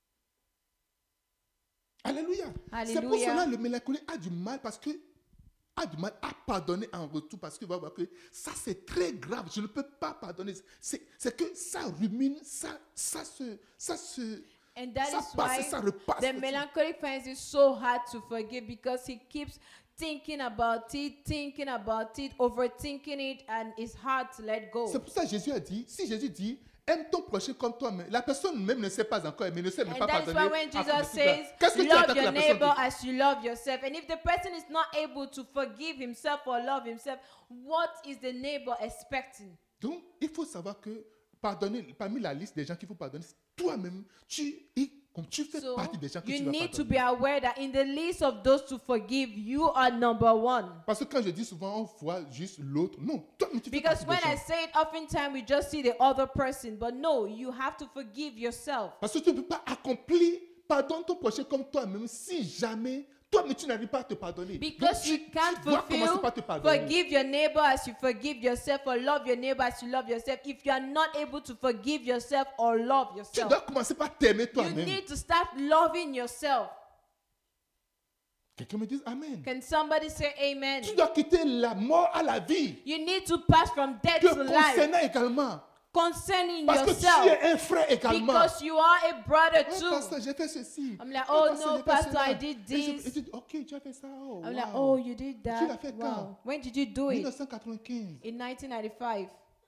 Alléluia. C'est pour Alléluia. cela que le mélancolique a du mal parce que a du mal à pardonner en retour parce qu'il va voir que ça c'est très grave. Je ne peux pas pardonner. C'est, c'est que ça rumine, ça, ça se, ça se, And that ça is passe, why ça repasse. the melancholic finds it so hard to forgive, because he keeps thinking about it, thinking about it, overthinking it, and it's hard to let go. C'est pour ça que Jésus a dit, si Jésus dit, aime ton prochain comme toi-même, la personne même ne sait pas encore aimer, ne sait même And pas that is pardonner. why when à Jesus son petit frère. says, Qu'est-ce que tu attends love que la your personne neighbor dise? as you love yourself, and if the person is not able to forgive himself or love himself, what is the neighbor expecting? Donc, il faut savoir que pardonner, parmi la liste des gens qu'il faut pardonner, toi-même, tu, comme tu fais So partie des gens que you tu vas need to pardonner. be aware that in the list of those to forgive, you are number one. Parce que quand je dis souvent, on voit juste l'autre. Non, toi, mais tu fais Because partie when des I gens. say it, oftentimes we just see the other person. But no, you have to forgive yourself. Parce que tu ne peux pas accomplir, pardonne ton prochain comme toi-même si jamais, toi, mais tu n'arrives pas à te pardonner. Because Donc, you tu, can't tu dois commencer fulfill, par te pardonner. forgive your neighbor as you forgive yourself, or love your neighbor as you love yourself. If you are not able to forgive yourself or love Tu yourself, dois commencer par t'aimer you toi-même. need to start loving yourself. Quelqu'un me dise Amen. Can somebody say amen? Tu dois quitter la mort à la vie. You need to pass from death Te to life. concernant également. Concerning Parce que yourself. tu es un frère également. Because you are a brother Oh, too. pasteur, j'ai fait ceci. I'm like, Oh, oh pasteur, no, j'ai fait pastor, cela. I did Et je- this. et tu dis, ok, tu as fait ça. Oh, I'm like, wow. oh, you did Tu l'as that? fait Wow. quand? When did you do it? dix-neuf cent quatre-vingt-quinze. In nineteen ninety-five.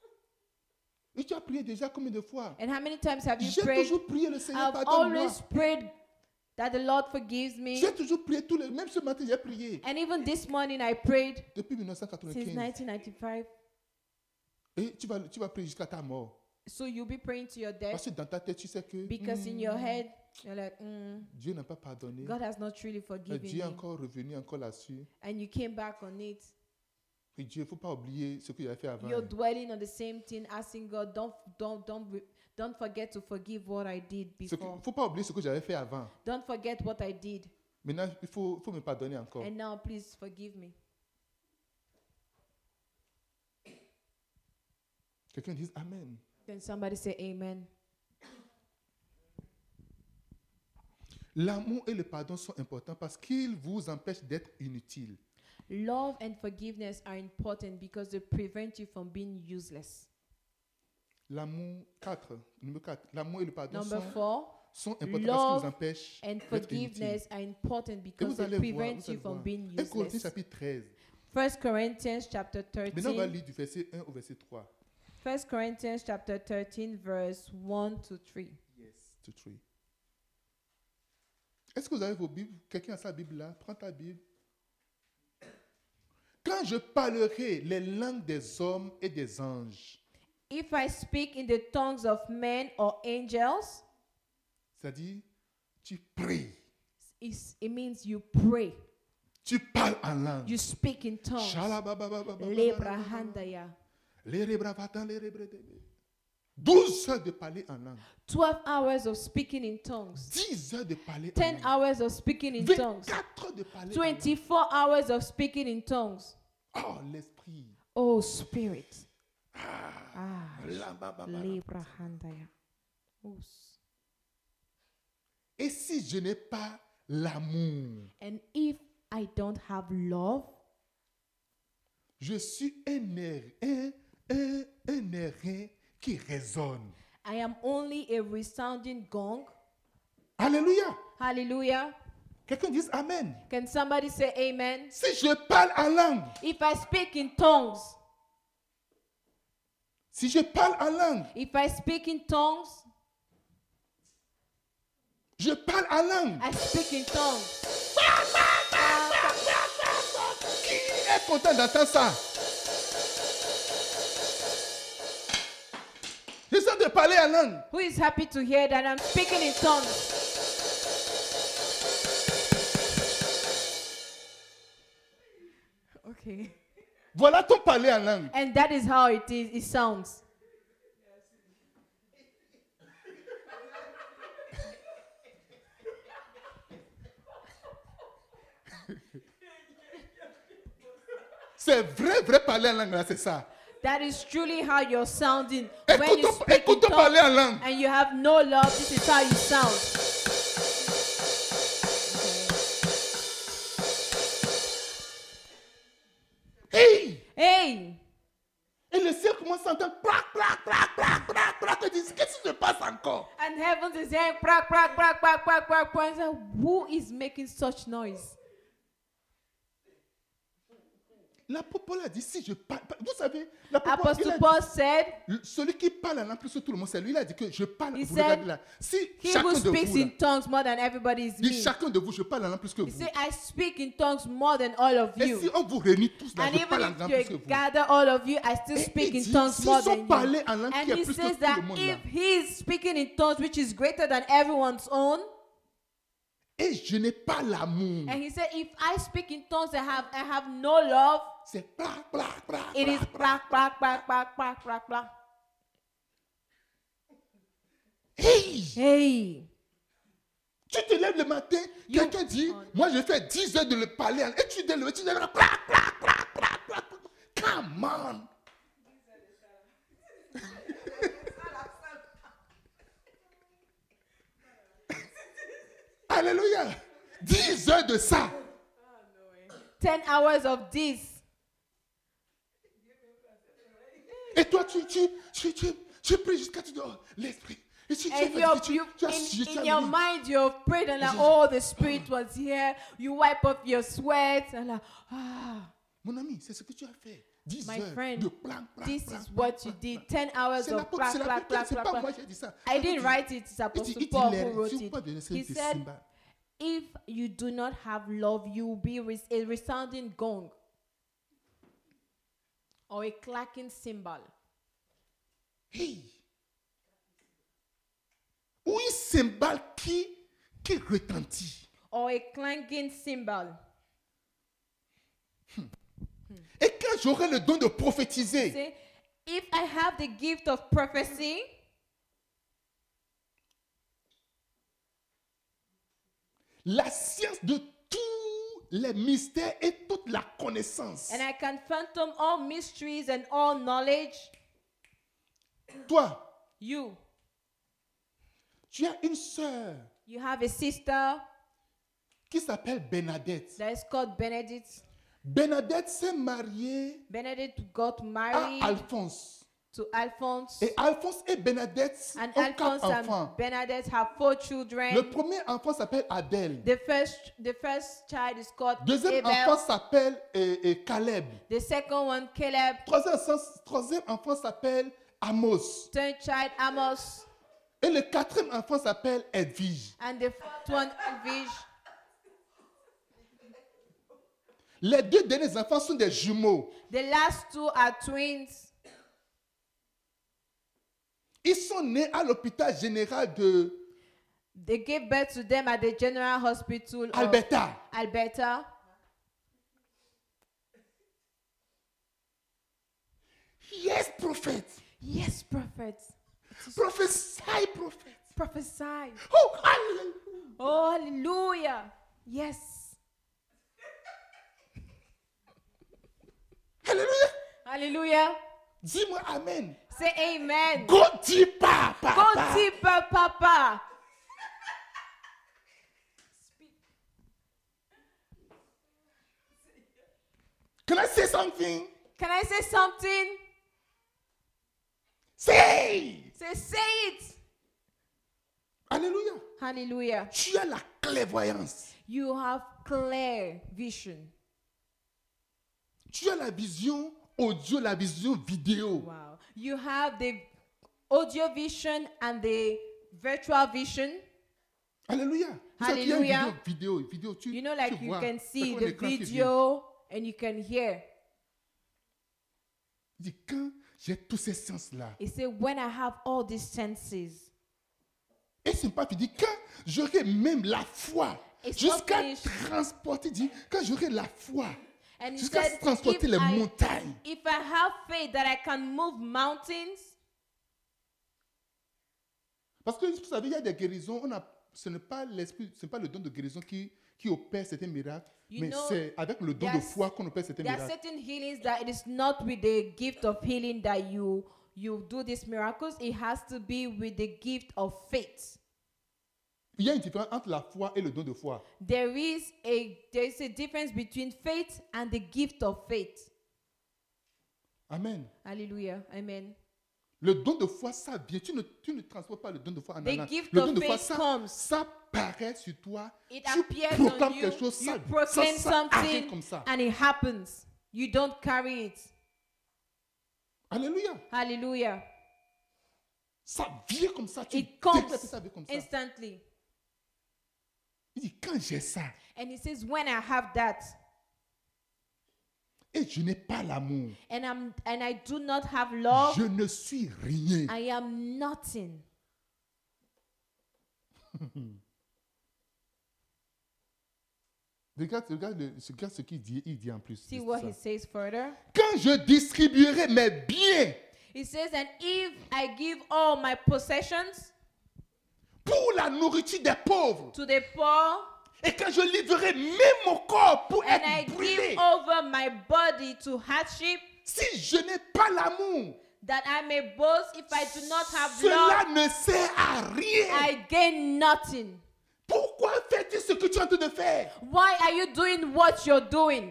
Et tu as prié déjà combien de fois? And how many times have you J'ai prayed? toujours prié le Seigneur, I've pardonne-moi. always prayed that the Lord forgives me. J'ai toujours prié tous les... Même ce matin, j'ai prié. And even this morning I prayed Depuis since dix-neuf cent quatre-vingt-quinze. nineteen ninety-five. Et tu vas, tu vas prier jusqu'à ta mort. So you'll be praying to your death Parce que dans ta tête, tu sais que because in hmm, your head you're like, mm, Dieu n'a pas pardonné. God has not truly Et forgiven Dieu est me. encore revenu encore là-dessus. And you came back on it. Et Dieu, il ne faut pas oublier ce qu'il a fait avant. You're dwelling on the same thing, asking God, don't, don't, don't, re- don't forget to forgive what I did Il ne before. faut pas oublier ce que j'avais fait avant. Don't forget what I did. Maintenant, il faut, faut me pardonner encore. And now please forgive me. Quelqu'un dise Amen. Then somebody say amen. L'amour et le pardon sont importants parce qu'ils vous empêchent d'être inutiles. Love and forgiveness are important because they prevent you from being useless. L'amour, quatre, numéro quatre. L'amour et le pardon Number sont, four, sont importants love parce qu'ils vous empêchent and d'être inutiles. forgiveness are important Et because vous they allez voir, prevent vous you allez from voir. being un Corinthiens useless. chapitre treize. First Corinthians chapter Maintenant, on va thirteen. lire du verset un au verset trois. First Corinthians chapter thirteen, verse one to three. Yes, to three. Est-ce que vous avez vos Bibles? Quelqu'un a sa Bible là? Prends ta Bible. Quand je parlerai les langues des hommes et des anges, If I speak in the tongues of men or angels, c'est-à-dire, tu pries, it's, it means you pray. tu parles en langue. You speak in tongues. Shalababababababa. Lebrahandaya. Les rebravatan, les rebredebe. douze heures de parler en langue. twelve hours of speaking in tongues. dix heures de parler en ten langue. hours of speaking in tongues. vingt-quatre heures de parler en langue. twenty-four hours of speaking in tongues. Oh, l'esprit. Oh, Spirit. Ah. Lambababa. Lebrahandaya. Oos. Et si je n'ai pas l'amour, And if I don't have love, je suis un air, un, un, un airain qui résonne. I am only a resounding gong. Alléluia. Hallelujah. Quelqu'un dise Amen. Can somebody say amen? Si je parle en langue, If I speak in tongues, si je parle en langue, if I speak in tongues, je parle en langue. I speak in tongues. Qui est content d'entendre ça? J'essaie de parler en langue. Who is happy to hear that I'm speaking in tongues? Okay. Voilà ton parler en langue. And that is how it is. It sounds. C'est vrai, vrai parler en langue, là, c'est ça. That is truly how you're sounding. When you Écoute, speak in écoute parler en langue. tongues and you have no love, this is how you sound. Hey! Hey! Et le ciel commence à entendre plac, plac, plac, plac, plac, plac. Il dit, qu'est-ce qui se passe encore? And heaven is saying, crack, crack, crack, crack, crack, crack, crack. And say, who is making such noise? L'apôtre Paul a dit, si je parle, vous savez, l'apôtre Paul, il Apostle a Paul said, dit, celui qui parle en langue plus que tout le monde, c'est lui. Il a dit que je parle. He Vous said, regardez là. Si he chacun who de speaks vous, là, in tongues more than everybody is dit me. chacun de vous, je parle en langue plus que He vous. said, I speak in tongues more than all of Et you. si on vous réunit tous là, And je parle en even langue if plus que you vous. gather all of you, I still Et speak il in dit, tongues s'ils more sont than you. parlé en langue qui And est he plus que says tout that le monde là. if he is speaking in tongues, which is greater than everyone's own, Et je n'ai pas l'amour. and he said, if I speak in tongues and have I have no love, C'est plac, plac, plac, it is plac, black, black, black, black, black, black, black. Hey! Hey, Tu te lèves le matin, You- quelqu'un dit, moi je fais dix heures de le parler, en- et tu te lèves, tu te lèves, plac, plac, plac, plac, plac. Come on! Alléluia! dix heures de ça. ten hours of this. Et toi, tu, tu, tu, tu, tu pries jusqu'à tu dis, oh, l'esprit. Et tu, tu, And tu, you're, tu, you, tu as- in, tu as in your mis- mind, you've prayed and like, oh, the Spirit was here. You wipe off your sweat and like, ah, Mon ami, c'est ce que tu as fait. dix My heures friend, de plan, plan, this plan, is plan, what plan, you plan, did. plan. ten hours C'est of l'apôtre, black, c'est black, l'apôtre, black, c'est black, pas moi black. qui ai dit ça. I L'apôtre didn't dit- write it. It's il dit, Apostle il dit, Paul les- who wrote si vous it. pas donner He des said, cymbales. if you do not have love, you will be res- a resounding gong or a clacking cymbal. Hey. Ou une cymbale qui, qui retentit. Or a clanking cymbal. Et quand j'aurai le don de prophétiser, Say, if I have the gift of prophecy, la science de tous les mystères et toute la connaissance. and I can fathom all mysteries and all knowledge, Toi, you, tu as une sœur you have a sister qui s'appelle Bernadette. that is called Benedict. Bernadette s'est mariée Benedict got à married Alphonse. to Alphonse. Et Alphonse et Bernadette And ont Alphonse quatre enfants. and Bernadette have four children. Le premier enfant s'appelle Adèle. The first, the first child is called Deuxième Abel. enfant s'appelle euh, euh, Caleb. The second one, Caleb. Troisième, enfant- troisième enfant s'appelle Amos. Third child, Amos. Et le quatrième enfant s'appelle Edwige. And the fourth one, Elvige. Les deux derniers enfants sont des jumeaux. The last two are twins. Ils sont nés à l'hôpital général de They gave birth to them at the General Hospital of Alberta. Alberta. Yes, prophet. Yes, prophet. Prophesy, prophet. Prophesy. Oh, hallelujah. Oh, hallelujah. Yes. Hallelujah. Hallelujah. Dis-moi amen. Say amen. Go deeper, Go papa. deeper, Papa. Can I say something? Can I say something? Say. Say, say it. Alléluia. Hallelujah. Tu as la clairvoyance. You have clear vision. Tu as la vision audio, la vision vidéo. Wow. You have the audio vision and the virtual vision. Alléluia. Vous savez qu'il y a une Hallelujah. vidéo, vidéo, vidéo, tu, You know, tu like you vois, can c'est see comme the un écran qui vient. video and you can hear. Il dit, quand j'ai tous ces sens-là, He said, when I have all these senses, et c'est pas fini, quand j'aurai même la foi, It's jusqu'à not finished. transporter, dit, quand j'aurai la foi, and he jusqu'à said, transporter if les I, montagnes. if I have faith that I can move mountains, Parce que vous savez, il y a des guérisons, on a, ce n'est pas l'esprit, ce n'est pas le don de guérison qui, qui opère certains miracles, You mais know, c'est avec le don de there's- foi qu'on opère certains there are miracles. certain healings that it is not with the gift of healing that you you do these miracles. It has to be with the gift of faith. Il y a une différence entre la foi et le don de foi. There is a there is a difference between faith and the gift of faith. Amen. Hallelujah. Amen. Le don de foi, ça vient. Tu ne, tu ne transportes pas le don de foi en The allant. gift Le of don de foi, faith ça, comes. ça paraît sur toi. It tu appears proclames on you. quelque chose, You ça, proclaim ça, ça arrive something comme ça. and it happens. You don't carry it. Alléluia. Hallelujah. Ça vient comme ça. Tu It comes déclares que ça vient comme ça. instantly. Il dit, quand j'ai ça, And he says, when I have that, et je n'ai pas l'amour, and I'm and I do not have love, je ne suis rien. I am nothing. Regarde, regarde, le- regarde ce qu'il dit, il dit en plus. See de what ça. he says further. Quand je distribuerai mes biens He says, and if I give all my possessions pour la nourriture des pauvres, to the poor, et quand je livrerai même mon corps pour and I être give brûlé, over my body to hardship, si je n'ai pas l'amour, that I may boast, if I do not have cela love, ne sert à rien. I gain nothing. Pourquoi fais-tu ce que tu es en train de faire? Why are you doing what you're doing?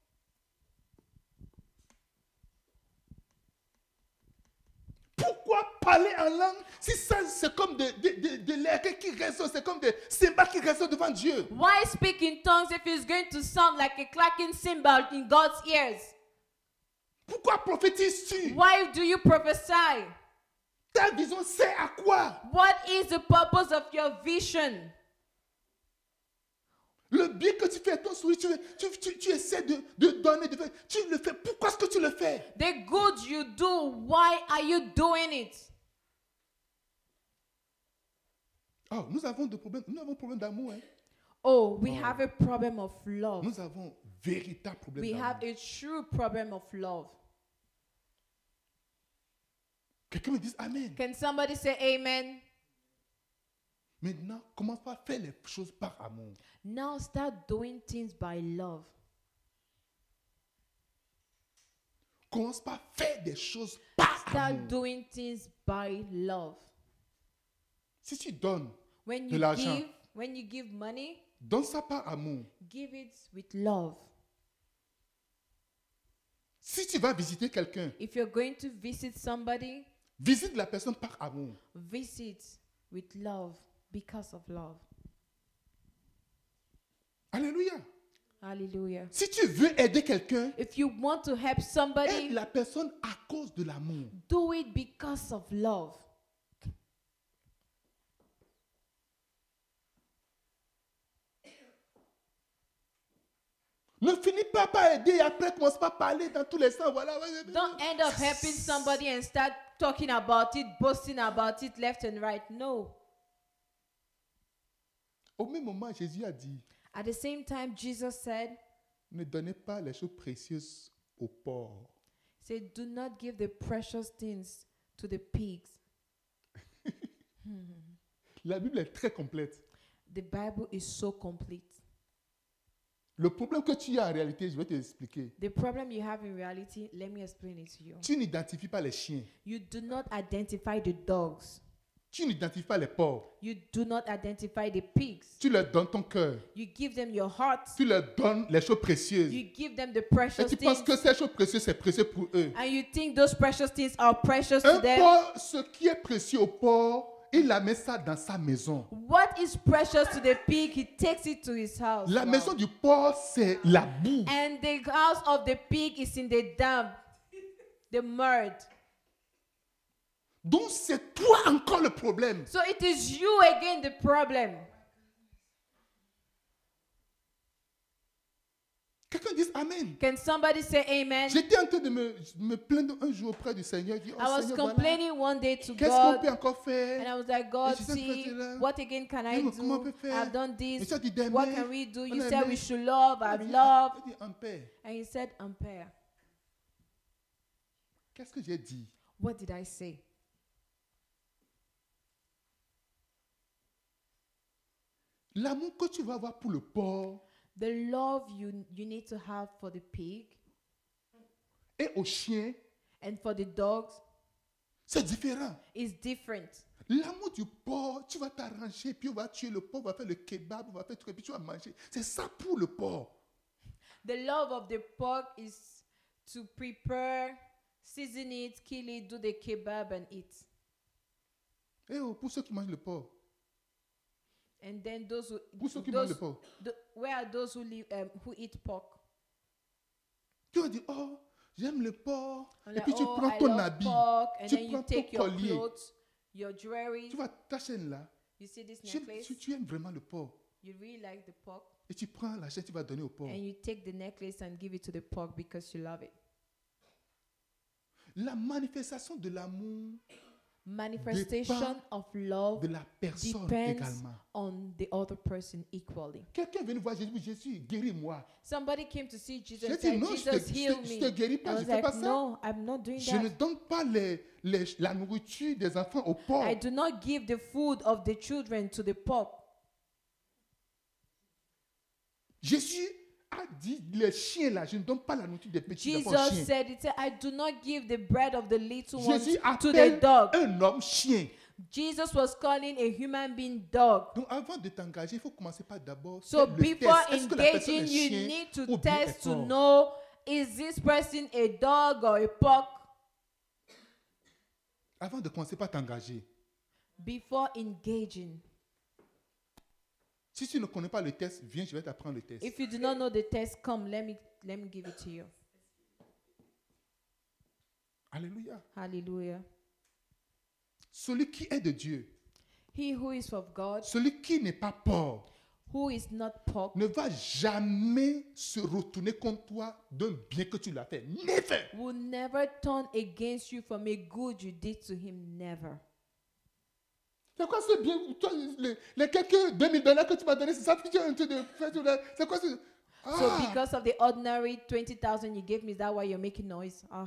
Pourquoi parler en langue si ça c'est comme de, de, de, de l'air qui résonne, c'est comme des cymbales qui résonnent devant Dieu? Why speak in tongues if it's going to sound like a clacking cymbal in God's ears? Pourquoi prophétises-tu? Why do you prophesy? Ta vision sert à quoi? What is the purpose of your vision? Le bien que tu fais à ton sourire, tu, tu, tu, tu essaies de, de donner, de faire, tu le fais. Pourquoi est-ce que tu le fais? The good you do, why are you doing it? Oh, nous avons des problèmes, nous avons un problème d'amour. Hein. Oh, we have a problem of love. Nous avons un véritable problème We d'amour. have a true problem of love. Quelqu'un me dit Amen. Can somebody say amen? Maintenant, commence par faire les choses par amour. Now start doing things by love. Commence par faire des choses par Start amour. doing things by love. Si tu donnes, When de you l'argent. give, when you give money, donne ça par amour. give it with love. Si tu vas visiter quelqu'un, If you're going to visit somebody, visite la personne par amour. visit with love because of love. Alléluia. Hallelujah. Si tu veux aider quelqu'un, If you want to help somebody, aide la personne à cause de l'amour. do it because of love. Ne finis pas par aider et après commence pas à parler dans tous les sens. Voilà. Don't end up helping somebody and start talking about it, boasting about it left and right. No. Au même moment, Jésus a dit, At the same time, Jesus said, ne donnez pas les choses précieuses aux pauvres. say, do not give the precious things to the pigs. La Bible est très complète. The Bible is so complete. Le problème que tu as en réalité, je vais te l'expliquer. The problem you have in reality, let me explain it to you. Tu n'identifies pas les chiens. You do not identify the dogs. Tu n'identifies pas les pauvres. You do not identify the pigs. Tu leur donnes ton cœur. You give them your heart. Tu leur donnes les choses précieuses. You give them the Et precious tu penses things. que ces choses précieuses, c'est précieux pour eux. And you think those precious things are precious Un to them. pauvre, ce qui est précieux au pauvre, il a mis ça dans sa maison. What is precious to the pig, he takes it to his house. La Wow. maison du pauvre, c'est la boue. And the house of the pig is in the dump, the mud. Donc c'est toi encore le problème. So it is you again the problem. Quelqu'un dise Amen. Can somebody say amen? J'étais en train de me, me plaindre un jour auprès du Seigneur. Je dis, oh, I was Seigneur, complaining voilà. one day to Qu'est-ce qu'on God, peut encore faire? and I was like, God, je sais see, pas, là. what again can I Dis-moi, comment on do? peut faire? I've done Et this. tu as dit d'aimer. What can we do? On You a said aimé. we should love. Il a I've dit, loved. il a dit, en paix. And he said, ampere. Qu'est-ce que j'ai dit? What did I say? L'amour que tu vas avoir pour le porc The love you, you need to have for the pig et au chien, and for the dogs c'est différent. is different. L'amour du porc, tu vas t'arranger, puis on va tuer le porc, on va faire le kebab, on va faire tout, et puis tu vas manger. C'est ça pour le porc. The love of the pork is to prepare, season it, kill it, do the kebab and eat. Et oh, pour ceux qui mangent le porc, And then those who pour ceux qui mangent le those, porc, the, where are those who live um, who eat pork? tu vas dire, oh, j'aime le porc. I'm Et like, puis tu oh, prends I ton love habit, pork, and tu then you prends take ton your collier. clothes, your jewelry. Tu vas ta chaîne là. You see this Tu, necklace? tu, tu aimes vraiment le porc. You really like the pork, Et tu prends la chaîne, tu vas donner au porc. and you take the necklace and give it to the pork because you love it. La manifestation de l'amour Manifestation dépend of love de la personne depends également. on the other person equally. Quelqu'un est venu voir Jésus, Jésus, guéris-moi. Somebody came to see Jesus J'ai and dit, said, non, je Jesus, te, je heal te- je me. te guéris I pas, je was ne fais like, pas ça. no, I'm not doing Je ne that. donne pas les, les- la nourriture des enfants au porc. I do not give the food of the children to the pork. Jésus a dit, les chiens là, je ne donne pas la nourriture des petits enfants Jesus chiens. said, it said, I do not give the bread of the little ones Jésus to the appelle dog. un homme chien. Jesus was calling a human being dog. Donc avant de t'engager, il faut commencer par d'abord So faire le before test. Est-ce que la personne engaging, est you chien need to ou bien est test to porc? know, is this person a dog or a pork? Avant de commencer par t'engager. Before engaging. Si tu ne connais pas le test, viens, je vais t'apprendre le test. If you do not know the test, come, let me let me give it to you. Alléluia. Hallelujah. Celui qui est de Dieu, He who is of God, celui qui n'est pas porc, who is not pork, ne va jamais se retourner contre toi d'un bien que tu lui as fait. Never. will never turn against you from a good you did to him. Never. C'est quoi ce bien? Toi, les, les quelques deux mille dollars que tu m'as donné, c'est ça que tu es en train de faire. C'est quoi ce... So Ah! because of the ordinary twenty thousand you gave me, is that why you're making noise? Ah,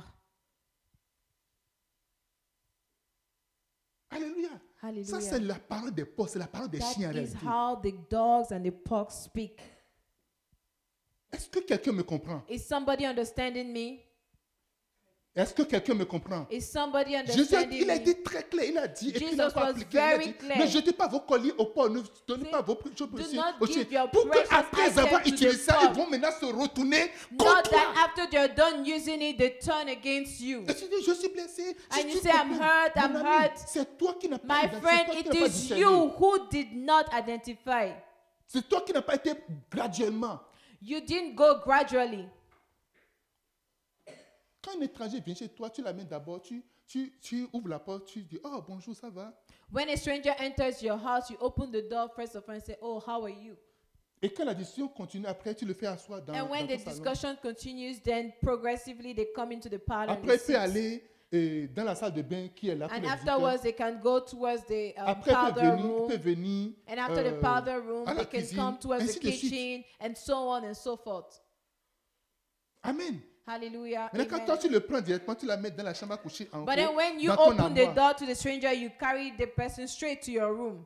Alléluia. Ça, hallelujah. c'est la parole des porcs, c'est la parole des That chiens en is réalité. how the dogs and the pork speak. Est-ce que quelqu'un me comprend? Is somebody understanding me? Est-ce que quelqu'un me comprend? Is somebody Jésus, a- understanding il a me? été très clair. Il a dit, et puis il Jesus a pas was appliqué, il a very dit, clear. ne jetez pas vos colliers au porc, ne donnez See, pas vos choses do précieuses not aux give chiens. your Pour precious qu'après items avoir to utilisé the ça, porc. ils vont maintenant se retourner Not contre that toi. after they're done using it, they turn against you. Et tu dis, je suis blessé. Si And tu you say, I'm comprends, hurt, mon I'm ami, hurt. c'est toi qui n'as pas My identifié, friend, c'est toi qui it n'as pas is discerné. you who did not identify. C'est toi qui n'as pas été graduellement. You didn't go gradually. Quand un étranger vient chez toi, tu l'amènes d'abord, tu, tu, tu ouvres la porte, tu dis, oh bonjour, ça va? When a stranger enters your house, you open the door first of all and say, oh, how are you? Et quand la discussion continue, après, tu le fais asseoir dans, And when dans the ton salon. discussion continues, then progressively they come into the parlor. and Après, il they peut sit. aller euh, dans la salle de bain qui est là pour And les afterwards, visiteurs. they can go towards the um, Après, il peut powder venir, il room. peut venir And after euh, the powder room, à la they can cuisine, come towards ainsi the de suite. kitchen, and so on and so forth. Amen. Hallelujah. Maintenant, quand Amen. toi, tu le prends directement, tu la mets dans la chambre à coucher en But haut, then when you dans ton open the armoire. door to the stranger, you carry the person straight to your room.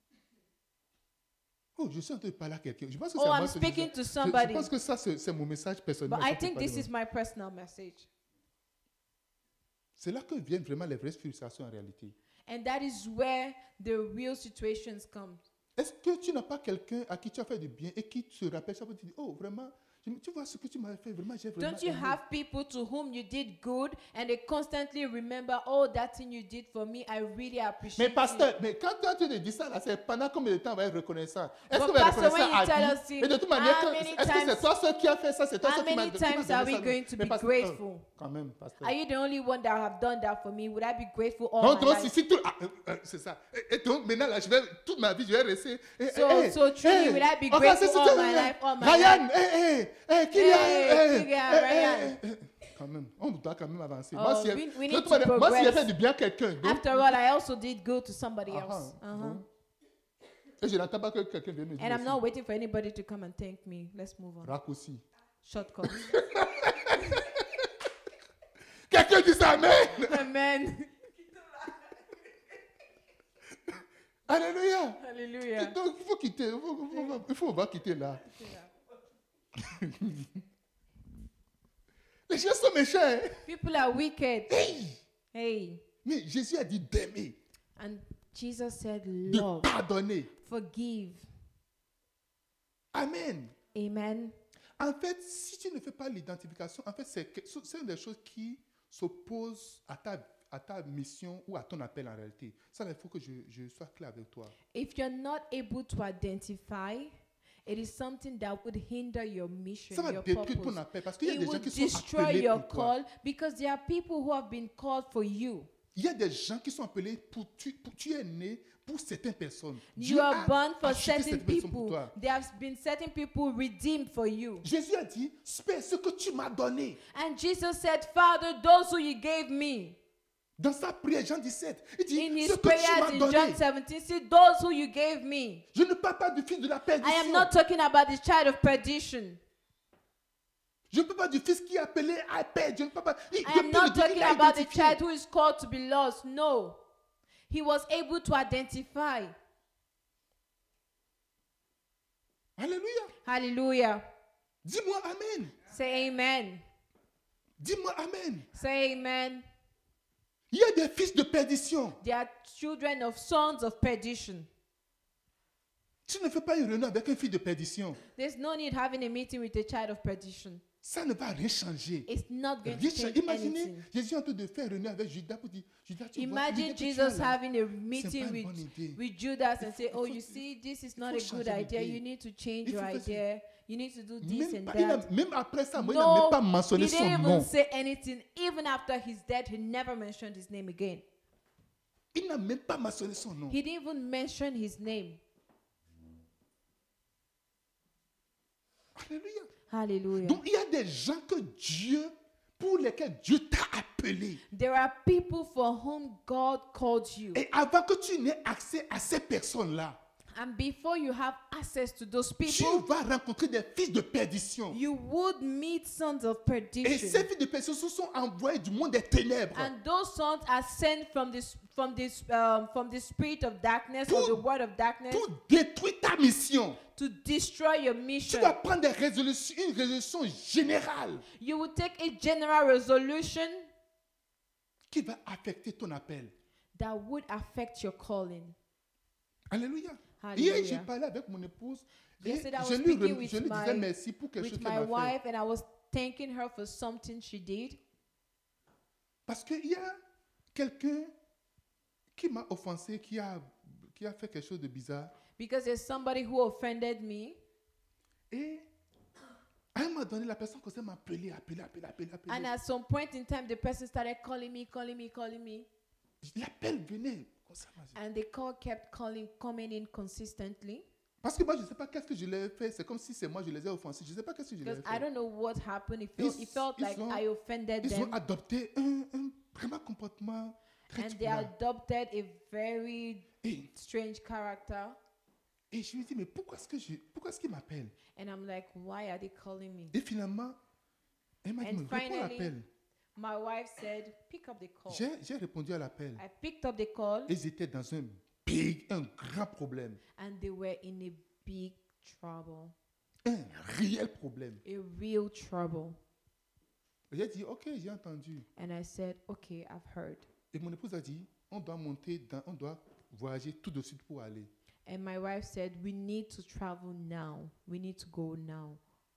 Oh, je suis en train de parler à quelqu'un. Je pense que Oh, c'est à I'm moi que je speaking dis to ça. Je- somebody. Je pense que ça, c'est c'est mon message personnel. But I think this is my personal message. C'est là que viennent vraiment les vraies frustrations en réalité. And that is where the real situations come. Est-ce que tu n'as pas quelqu'un à qui tu as fait du bien et qui te rappelle chaque fois, tu dis, oh, vraiment, je- tu vois ce que tu m'as fait, vraiment, j'ai vraiment Don't you aimé. have people to whom you did good and they constantly remember, oh, that thing you did for me, I really appreciate Mais it. pasteur, mais quand toi, tu te dis ça, là, c'est pendant combien de temps on va être reconnaissant? Est-ce But qu'on va être pastor, when reconnaissant you tell à us, vie? see, Et de toute manière, how que- many est-ce que times- c'est toi seul qui a fait ça? C'est toi How seul qui m'a many qui m'a times donné are ça? we going to Mais be pasteur, grateful? euh, quand même, pasteur. Are you the only one that have done that for me? Would I be grateful all Donc, my donc, si, life? si tout, ah, euh, euh, c'est ça. Et, et donc, maintenant, là, je vais, toute ma vie, je vais rester. Eh, So- eh, so truly, eh, will I be ok, grateful c'est- c'est- all eh, my eh, life, all my Ryan, eh, eh, hey, Kylian, Hey, hey, Kylian, hey, Ryan. hey, hey. Quand même, on doit quand même avancer. Oh, moi, si we- elle, we je need te demande, to moi, si elle progress. fait du bien à quelqu'un, donc, After all, I also did good to somebody ah, else. ah, Uh-huh. bon. Et je n'attends pas que quelqu'un vienne me dire And I'm aussi. not waiting for anybody to come and thank me. Let's move on. Raccourci. Shortcut. Quelqu'un dit ça, amen. Amen. Alléluia. Hallelujah. Donc, il faut quitter. Il faut, il faut, il faut on va quitter là. Les gens sont méchants. Hein? People are wicked. Hey. Hey. Mais Jésus a dit d'aimer, And Jesus said, de love, pardonner. forgive. Amen. Amen. En fait, si tu ne fais pas l'identification, en fait, c'est, que- c'est une des choses qui s'oppose à ta, à ta mission ou à ton appel en réalité. Ça, il faut que je, je sois clair avec toi. If you're not able to identify, it is something that would hinder your mission, Ça va your détruire ton purpose. appel parce qu'il y a It des gens will qui sont destroy appelés your pour toi. call because there are people who have been called for you. Il y a des gens qui sont appelés pour tu, pour, tu es né pour certaines personnes. You Dieu are a born for acheté certain cette personne pour people. toi. There have been certain people redeemed for you. Jésus a dit, c'est ce que tu m'as donné. And Jesus said, Father, those who you gave me. Dans sa prière, Jean dix-sept, il dit, In ce his que tu prayers m'as in donné. John seventeen, see, those who you gave me. Je ne parle pas du fils de la I perdition. am not talking about the child of perdition. Je ne parle pas du fils qui est appelé à perdre. Je ne parle pas. Il, I am depuis not le début, talking il a about the identifié. child who is called to be lost. No. He was able to identify. Alléluia. Hallelujah. Dis-moi Amen. Say amen. Dis-moi Amen. Say amen. Il y a des fils de perdition. They are children of sons of perdition. Tu ne fais pas une réunion avec un fils de perdition. There's no need having a meeting with a child of perdition. Ça ne va rien changer. It's not going Rien to changer. change Imaginez, anything. Jésus est en train de faire une réunion avec Judas pour dire, Judas, tu vois, Imagine l'idée que tu Jesus as là, having a c'est pas meeting une with, bonne idée. with Judas and say, Il oh, faut- you see, this is il not faut a good changer idea. d'idée. You need to change Il your faut faire ça. idea. You need to do this Même, and pas- il a- that. même après ça, moi, il n'a même No, pas mentionné he son didn't even nom. say anything. Even after he's dead, he never mentioned his name again. Il n'a même pas mentionné son nom. He didn't even mention his name. Alléluia. Hallelujah. Donc, il y a des gens que Dieu, pour lesquels Dieu t'a appelé. There are people for whom God called you. Et avant que tu n'aies accès à ces personnes-là, And before you have access to those tu people, vas rencontrer des fils de perdition. you would meet sons of Et perdition. ces fils de perdition se sont envoyés du monde des ténèbres And those sons are sent from this from this um, from the spirit of darkness or the word of darkness pour détruire ta mission. to destroy your Tu mission. dois prendre des résolutions, une résolution générale You will take a general resolution qui va affecter ton appel. that would affect your calling. Alléluia. Hallelujah. Hier, j'ai parlé avec mon épouse et Yesterday, I was je lui, speaking rem- with je lui disais my- merci pour quelque chose With qu'elle my m'a fait. wife, and I was thanking her for something she did. Parce qu'il y a quelqu'un qui m'a offensé, qui a, qui a fait quelque chose de bizarre. Because there's somebody who offended me. Et à un moment donné, la personne commençait à m'appeler, appeler, appeler, appeler, appeler. And at some point in time, the person started calling me, calling me, calling me. L'appel venait. comme ça, moi, je- And the call kept calling, coming in consistently. Parce que moi, je ne sais pas qu'est-ce que je l'ai fait. C'est comme si c'est moi, je les ai offensés. Je ne sais pas qu'est-ce que je les ai Because I fait. don't know what happened. It felt, it felt Ils- like ils ont- I offended Ils ont them. adopté un, un vraiment comportement très And they bizarre. adopted a very Et, strange character. et je lui dis, mais pourquoi est-ce que je, pourquoi est-ce qu'il m'appelle? And I'm like, why are they calling me? Et finalement, elle m'a dit, And mais réponds à finally, l'appel. My wife said, pick up the call. J'ai j'ai répondu à l'appel. I picked up the call, Ils étaient dans un big, un grand problème. and they were in a big trouble. Un réel problème. A real trouble. Et j'ai dit, ok, j'ai entendu. And I said, okay, I've heard. Et mon épouse a dit, on doit monter, dans, on doit voyager tout de suite pour aller. And my wife said, we need to travel now. We need to go now.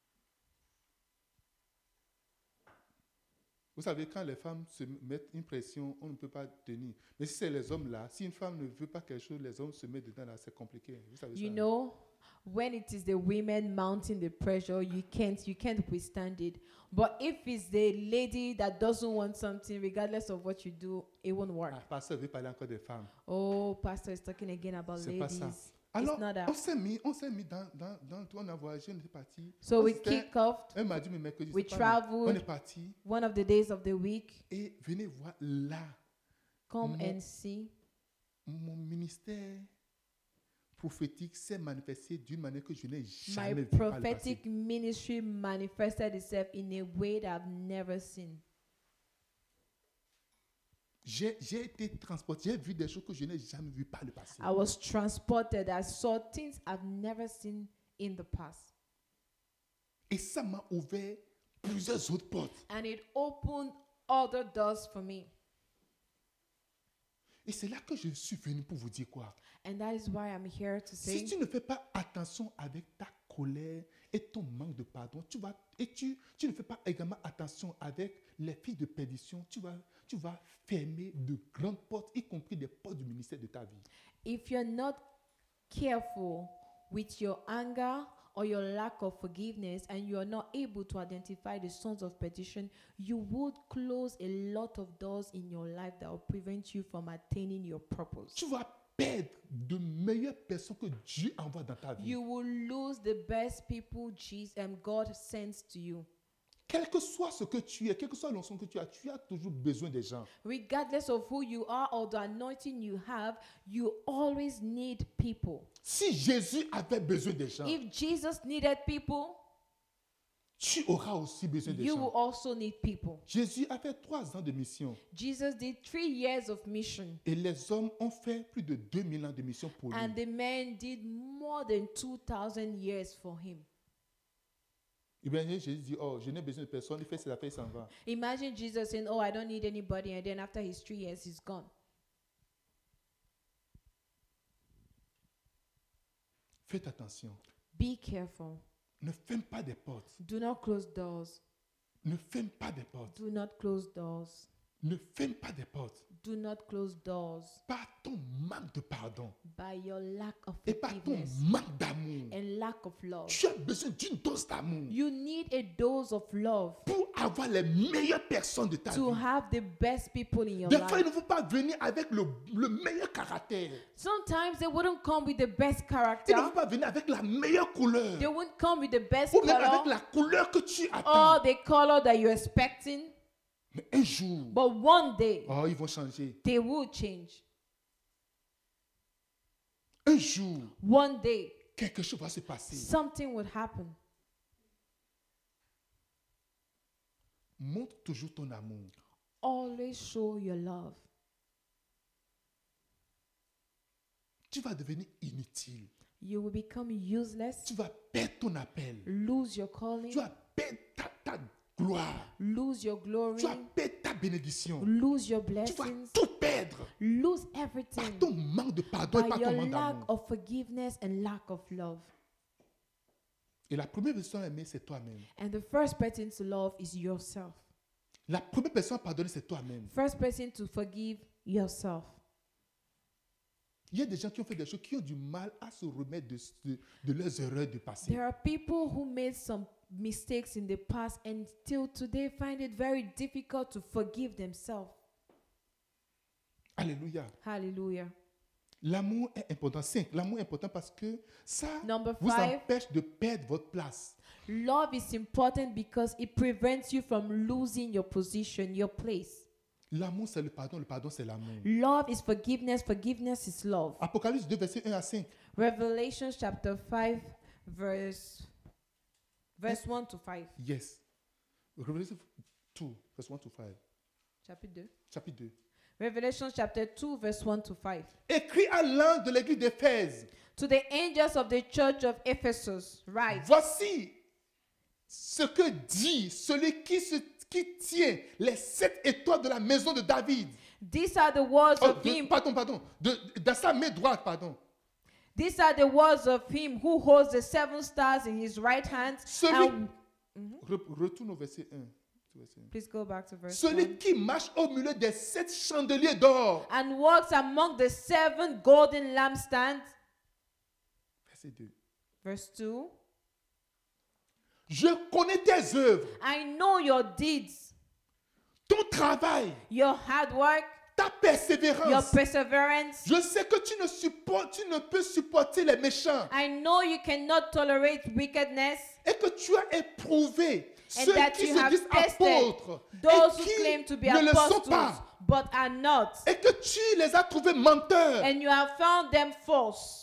Vous savez, quand les femmes se mettent une pression, on ne peut pas tenir. Mais si c'est les hommes là, si une femme ne veut pas quelque chose, les hommes se mettent dedans là, c'est compliqué. Vous savez You ça. know, when it is the women mounting the pressure, you can't you can't withstand it. But if it's the lady that doesn't want something, regardless of what you do, it won't work. Ah, pasteur veut parler encore des femmes. Oh, pastor is talking again about C'est pas ladies. ça. Alors, not on out. s'est mis, on s'est mis dans, dans, dans le tour, on a voyagé, on est parti. So we C'était kicked off un mardi, mais mercredi, We c'est pas mal. On traveled. est parti one of the days of the week. et venez voir là, Come Mon- and see. mon ministère prophétique s'est manifesté d'une manière que je n'ai My jamais vue par le passé. prophetic ministry manifested itself in a way that I've never seen. J'ai j'ai été transporté, j'ai vu des choses que je n'ai jamais vues par le passé. I was transported. I saw things I've never seen in the past. Et ça m'a ouvert plusieurs autres portes. And it opened other doors for me. Et c'est là que je suis venu pour vous dire quoi? And that is why I'm here to say, Si tu ne fais pas attention avec ta colère et ton manque de pardon, tu vas, et tu, tu ne fais pas également attention avec les filles de perdition, tu vas, tu vas fermer de grandes portes, y compris des portes du ministère de ta vie. if you're not careful with your anger or your lack of forgiveness and you are not able to identify the sons of perdition, you would close a lot of doors in your life that will prevent you from attaining your purpose. Tu vas perdre de meilleures personnes que Dieu envoie dans ta vie. You will lose the best people Jesus and God sends to you. Quel que soit ce que tu es, quelle que soit l'onction que tu as, tu as toujours besoin des gens. Regardless of who you are or the anointing you have, you always need people. Si Jésus avait besoin des gens, If Jesus needed people, tu auras aussi besoin des you will gens. also need people. Jésus a fait trois ans de mission Jesus did three years of mission, et les hommes ont fait plus de deux mille ans de mission pour lui. and the man did more than two thousand years for him. Et bien Jésus dit, oh, je n'ai besoin de personne, il fait ses affaires, il s'en va. Imagine Jesus saying, "Oh, I don't need anybody," and then after his three years, he's gone. Faites attention. Be careful. Ne ferme pas des portes. Do not close doors. Ne ferme pas des portes. Do not close doors. Ne ferme pas des portes. Do not close doors Par ton manque de pardon by your lack of et par ton forgiveness manque d'amour. and lack of love. Tu as besoin d'une dose d'amour You need a dose of love pour avoir les meilleures personnes de ta to vie. have the best people in your Des fois, il life. ne faut pas venir avec le, le meilleur caractère. Sometimes they wouldn't come with the best Il ne character. faut pas venir avec la meilleure couleur. They wouldn't come with the best Ou même avec color la couleur que tu or attends. the color that you're expecting. Mais un jour, But one day, oh, ils vont changer. they will change. Un jour, One day, quelque chose va se passer. something would happen. Montre toujours ton amour. Always show your love. Tu vas devenir inutile. You will become useless, Tu vas perdre ton appel. lose your calling, Tu vas perdre ta, ta gloire. lose your glory, Tu vas perdre ta bénédiction. lose your Tu vas blessings, tout perdre lose par everything ton manque de pardon et by par your ton manque lack d'amour. of forgiveness and lack of love. Et la première personne à aimer, c'est toi-même. And the first person to love is yourself. La première personne à pardonner, c'est toi-même. First person to forgive yourself. Il y a des gens qui ont fait des choses qui ont du mal à se remettre de, de, de leurs erreurs du passé. There are people who made some mistakes in the past and still today find it very difficult to forgive themselves. Alléluia. Hallelujah. L'amour est important. Cinq, l'amour est important parce que ça Number vous five, empêche de perdre votre place. love is important because it prevents you from losing your position, your place. L'amour, c'est le pardon. Le pardon, c'est l'amour. Love is forgiveness. Forgiveness is love. Apocalypse deux, versets un à cinq. Revelation chapter five, verse verse one to five. Yes. Revelation deux, verset un to cinq. Chapitre deux. Chapitre deux. Revelation chapter two, verse one to five. Écrit à l'ange de l'église d'Éphèse. To the angels of the church of Ephesus, write, Voici ce que dit celui qui, se, qui tient les sept étoiles de la maison de David. these are the words Oh, of de- him. pardon, pardon. De, dans sa main droite, pardon. These are the words of him who holds the seven stars in his right hand. Celui, And, Re- retourne au verset un. Verset un. please go back to verse Celui one. qui marche au milieu des sept chandeliers d'or. And walks among the seven golden lampstands. Verset deux. Verse two. Je connais tes œuvres, I know your deeds, ton travail, your hard work, ta persévérance. your perseverance. Je sais que tu ne, supportes, tu ne peux supporter les méchants. I know you cannot tolerate wickedness. Et que tu as éprouvé And ceux that qui you se have disent tested apôtres those et who qui claim to be ne le sont apostles, pas. but are not. Et que tu les as trouvés menteurs. And you have found them false.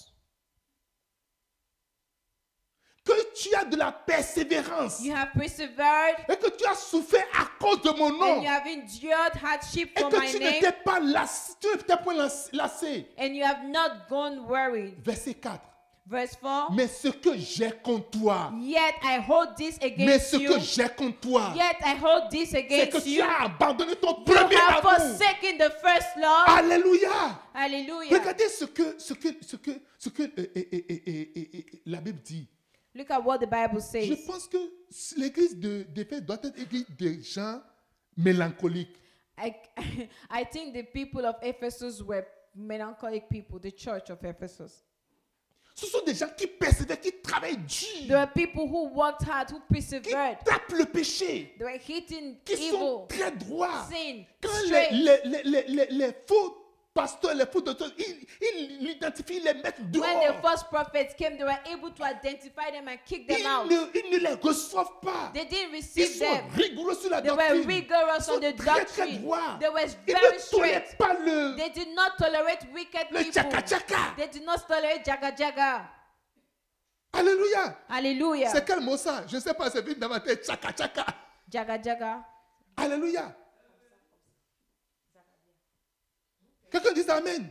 Que tu as de la persévérance. You have persevered. Et que tu as souffert à cause de mon nom. And you have endured hardship Et for que my tu name. n'étais pas lassé. Tu n'étais point las- lassé. And you have not gone worried. Verset quatre. Verse four. Mais ce que j'ai contre toi. Yet I hold this Mais against ce you. que j'ai contre toi. Yet I hold this C'est que against tu you. as abandonné ton You premier have amour. forsaken the first love. Alléluia. Hallelujah. Regardez ce que, ce que, ce que, ce que euh, euh, euh, euh, euh, euh, la Bible dit. Look at what the Bible Je says. pense que l'église de d'Éphèse doit être l'église des gens mélancoliques. I, I think the people of Ephesus were melancholic people, the church of Ephesus. Ce sont des gens qui persévèrent, qui travaillent dur, There were people who worked hard, who qui persevered. tapent le péché, They were hitting qui sont evil, très droits. sin, Quand les, straight. les, les, les, les, les faux pasteurs, les faux docteurs, ils, ils l'identifient, ils les mettent When the dehors. false prophets came, they were able to identify them and kick them Ils out. ne, ils ne les reçoivent pas. They didn't Ils receive sont them. rigoureux sur la They were doctrine. rigorous Ils sont on the très, très doctrine. droits. They were Ils very ne tolèrent straight. pas le, They did not tolerate wicked le people. tchaka-tchaka. They did not tolerate jaga jaga. Alléluia. Hallelujah. C'est quel mot ça? Je ne sais pas, c'est venu dans ma tête. Tchaka tchaka. Jaga jaga. Alléluia. Quelqu'un dit amen.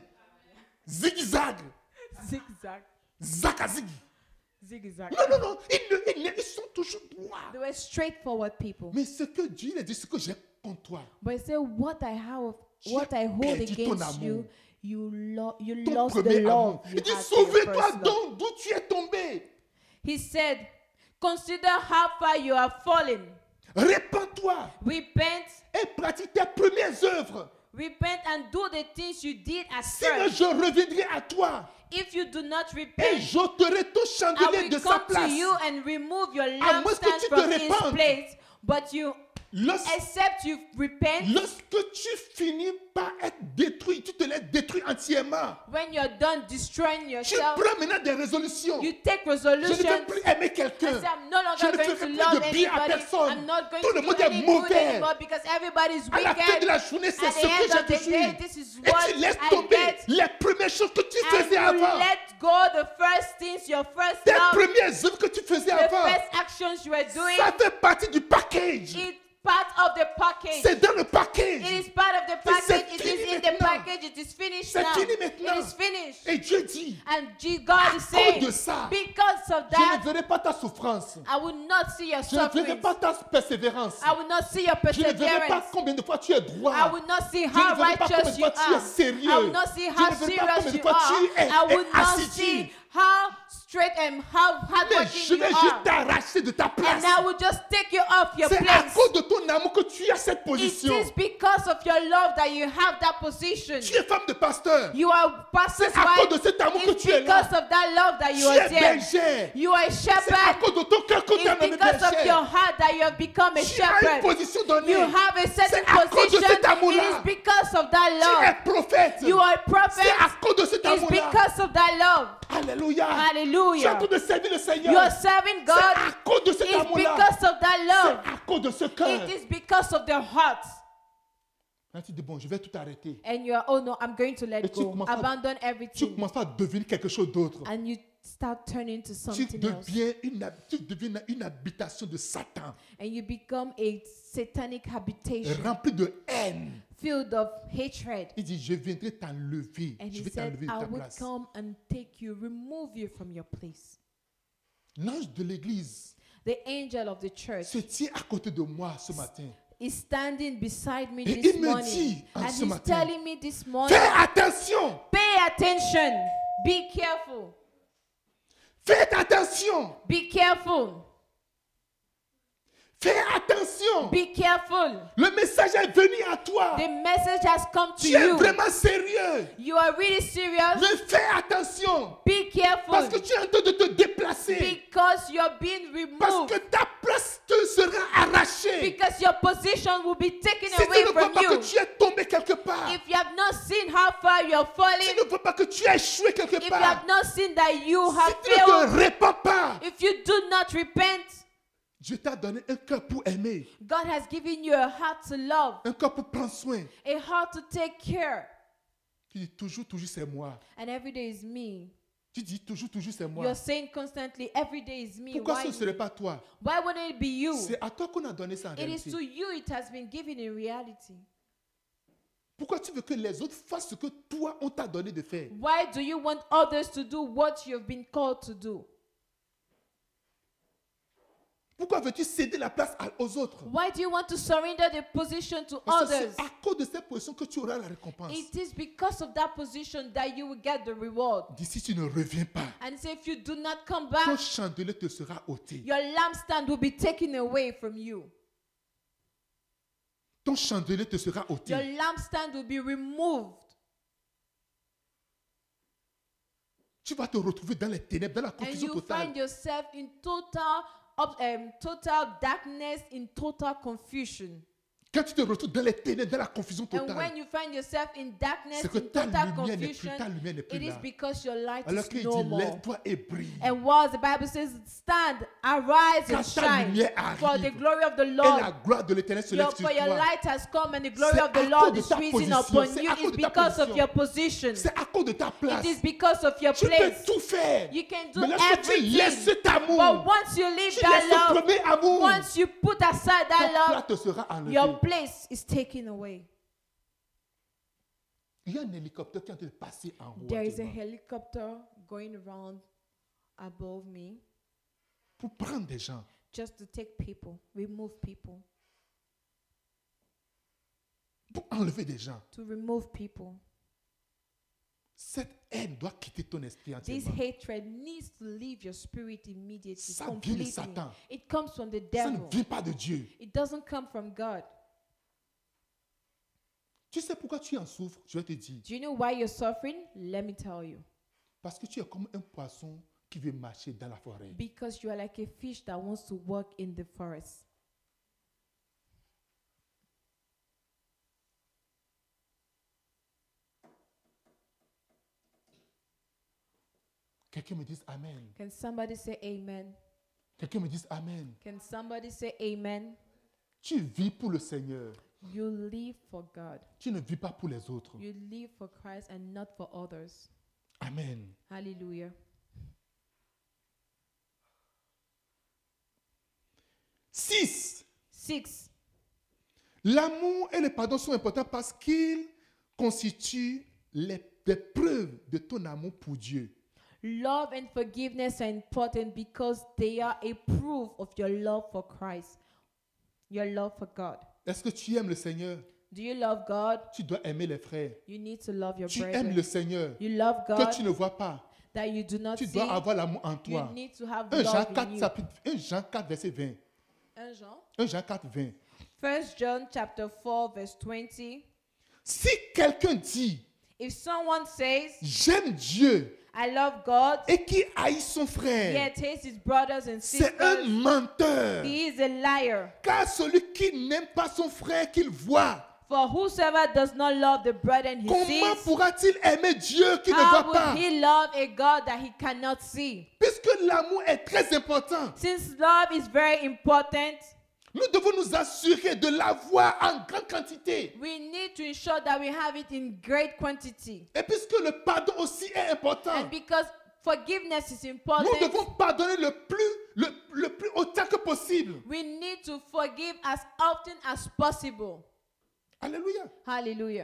Zigzag. Zigzag. Zakazig. Zigzag. Non, non, non. Ils, ne- ils ne- ils sont toujours droits. They were straightforward people. Mais ce que Dieu a dit, ce que j'ai contre toi, But he said, what I have, Tu what I as hold perdu ton against amour. you, you, lo- you ton lost the premier love amour. you Il dit, had for your sauve-toi first love. donc d'où tu es tombé. He said, consider how far you have fallen. Répands-toi Repent, et pratique tes premières œuvres. repent and do the things you did at Sinon, first. je reviendrai à toi If you do not et repent, j'ôterai ton I chandelier will de sa come to place. you and remove your À moins que lampstand tu te from its répandes. place. But you, Lors- except you repent, Lorsque tu finis par être détruit, tu te laisses détruire entièrement. when you're done destroying Tu yourself, prends maintenant des résolutions. you take Je ne resolutions. veux plus aimer I quelqu'un. say, I'm no Je longer ne going ferai to plus love de bien à anybody. personne. I'm not going Tout to le do monde est any good mauvais. anymore because everybody's À la fin de wicked. la journée, c'est At ce the que end j'ai of the day, détruit. this is Et what tu laisses I tomber get. les premières choses que tu And faisais you avant. let go the first things, your first Tes love, premières œuvres que tu faisais the avant. first actions you were doing. Ça fait partie du package. It's part of the package. C'est dans le It package. is part of the c'est package. It fini is in the maintenant. package. It is finished C'est now. fini maintenant. It is finished. Et Dieu dit, And G- God is cause saying, de ça, because of je ne that, verrai pas ta souffrance. I will not see your Je ne verrai suffering. pas ta persévérance. I will not see your Je ne verrai pas perseverance. combien de fois tu es droit. I will not see Je how ne verrai pas combien righteous de you fois tu es are. sérieux. I will not see Je how ne verrai pas serious combien de you fois tu are. es, I will es not assidu. see how straight and how Mais je hardworking you vais juste are. t'arracher de ta And place. I will just take you off your C'est à place. cause de ton amour que tu as cette It position. is because of your love that you have that position. Tu es femme de pasteur. You are pastor's C'est à cause wife. de cet amour que It's tu es là. because of that love that Tu you are es there. bergère. You are a C'est à shepherd. cause de ton cœur que tu es It's nommé because of your bergère. heart that you have become a Tu as une shepherd. position donnée. You have a certain C'est à cause de position. cet amour-là. It is because of that Tu love. es prophète. You are a C'est prophet. à cause de cet It's amour-là. because of that love. Alléluia. Tu es en Hallelujah. train de servir le Seigneur. You are serving C'est God. à cause de cet It's amour-là. because of that love. C'est à cause de ce cœur. It is because of the heart. Là, tu dis, bon, je vais tout arrêter. And you are, oh no, I'm going to Et let tu go. commences à- Abandon Tu everything. commences à devenir quelque chose d'autre. And you start turning to Tu something else. deviens, une, hab- tu deviens une habitation de Satan, And you become a satanic habitation remplie de haine. filled of hatred. Il dit, je viendrai t'enlever. And Je he vais said, t'enlever de I ta will place. come and take you, remove you from your place. L'ange de l'église The angel of the church se tient à côté de moi ce matin. is standing beside me Et this il me morning. dit, en And ce he's matin, telling me this morning, fais attention. pay attention. Be careful. Faites attention. Be careful. Fais attention. Be careful. Le message est venu à toi. The message has come to Tu es you. vraiment sérieux. You are really serious. Mais fais attention. Be careful. Parce que tu es en train de te déplacer. Because you're being Parce removed. que ta place te sera arrachée. Because your position will be taken Si tu away ne crois from pas que you. tu es tombé quelque part, If you have seen how far you are tu falling, ne vois pas que tu as échoué quelque if you part, have not seen that you si have tu ne te failed, répands pas, if you do not repent, Dieu t'a donné un cœur pour aimer, God has given you a heart to love, un cœur pour prendre soin. a heart to take care. Tu dis toujours, toujours c'est moi. And every day is me. Tu dis toujours, toujours c'est moi. You're saying constantly, every day is me. Pourquoi Why ce ne serait me? pas toi? Why wouldn't it be you? C'est à toi qu'on a donné ça en It is réalité. to you it has been given in reality. Pourquoi tu veux que les autres fassent ce que toi, on t'a donné de faire? Why do you want others to do what you've been called to do? Pourquoi veux-tu céder la place à- aux autres? Why do you want to surrender the position to Parce que others? c'est à cause de cette position que tu auras la récompense. It is because of that position that you will get the reward. D'ici, tu ne reviens pas. And so if you do not come Ton back, chandelier te sera ôté. your lampstand will be taken away from you. Ton chandelier te sera ôté. Your lampstand will be removed. Tu vas te retrouver dans les ténèbres, dans la And confusion you totale. find yourself in total, up- um, total darkness, in total confusion. Quand tu te retrouves dans les ténèbres, dans la confusion And totale, when you find yourself in darkness, c'est que in ta total lumière n'est plus, confusion, ta lumière n'est plus it is là. because your light Alors is qu'il no dit, more. lève-toi et brille. And whilst the Bible says, stand, arise Quand and ta shine, lumière for the arrive, glory of the et Lord, la gloire de l'Éternel se your, lève sur for your toi. light has come and the glory C'est of the à Lord cause de is ta risen position, upon c'est you. à cause It's de ta because of position. your position. C'est à cause de ta place. It is because of your Tu peux place. tout faire. You can do Mais lorsque tu laisses everything. cet amour, But once you leave tu that laisses ce love, premier amour, once you put aside ta that place love, te sera enlevée. your place is taken away. Il y a un hélicoptère qui est en train de passer en haut There is a actuellement helicopter going around above me pour prendre des gens. just to take people, remove people, Pour enlever des gens. to remove people. Cette haine doit quitter ton esprit This entièrement. hatred needs to leave your spirit immediately, Ça vient de completely. Satan. It comes from the Ça ne devil. vient pas de Dieu. It doesn't come from God. Tu sais pourquoi tu en souffres? Je vais te dire. Do you know why you're suffering? Let me tell you. Parce que tu es comme un poisson qui veut marcher dans la forêt. Because you are like a fish that wants to walk in the forest. Quelqu'un me dise Amen. Can somebody say amen? Quelqu'un me dise Amen. Can somebody say amen? Tu vis pour le Seigneur. You live for God. Tu ne vis pas pour les autres. You live for Christ and not for others. Amen. Hallelujah. Six. Six. L'amour et le pardon sont importants parce qu'ils constituent les, les preuves de ton amour pour Dieu. Love and forgiveness are important because they are a proof of your love for Christ, your love for God. Est-ce que tu aimes le Seigneur? Do you love God? Tu dois aimer les frères. You need to love your Tu aimes brethren. le Seigneur You love que God tu ne vois pas. that you do not Tu see. dois avoir l'amour en You toi. need to have un Jean love in quatre, you. chapitre- un Jean quatre, verset vingt. un Jean. un Jean quatre, vingt. First John chapter four verse twenty. Si quelqu'un dit If someone says, j'aime Dieu I love God, et qui haït son frère, yet hates his brothers and c'est un sisters, menteur. he is a liar. Car celui qui n'aime pas son frère qu'il voit, For whosoever does not love the brethren he comment sees, pourra-t-il aimer Dieu qui ne how voit will pas? he love a God that he cannot see? Puisque l'amour est très important, Since love is very important, nous devons nous assurer de l'avoir en grande quantité. we need to ensure that we have it in great quantity. Et puisque le pardon aussi est important, And because forgiveness is nous important, devons pardonner le plus, le, le plus autant que possible. we need to forgive as often as possible. Alléluia. Hallelujah.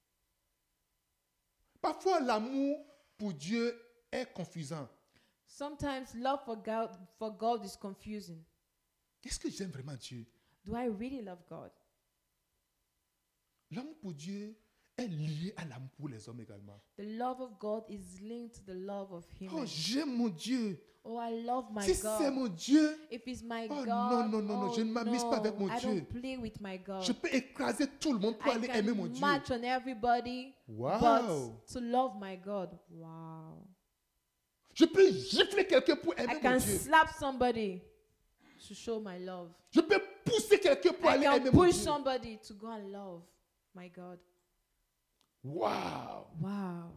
Parfois, l'amour pour Dieu est confusant. Sometimes love for God, for God is confusing. Est-ce que j'aime vraiment Dieu? Do I really love God? L'amour pour Dieu est lié à l'amour pour les hommes également. The love of God is linked to the love of Oh, humans. j'aime mon Dieu. Oh, I love my Si c'est God. mon Dieu, If it's my Oh, God, non, non, non, non, oh, je ne m'amuse no, pas avec mon I Dieu. don't play with my God. je peux écraser tout le monde pour I aller aimer mon can Dieu. match on everybody, Wow. but to love my God, wow. Je peux gifler quelqu'un pour I aimer mon can Dieu. slap somebody to show my love. Je peux pousser quelqu'un pour I aller can aimer mon push Dieu. somebody to go and love my God. Wow! Wow.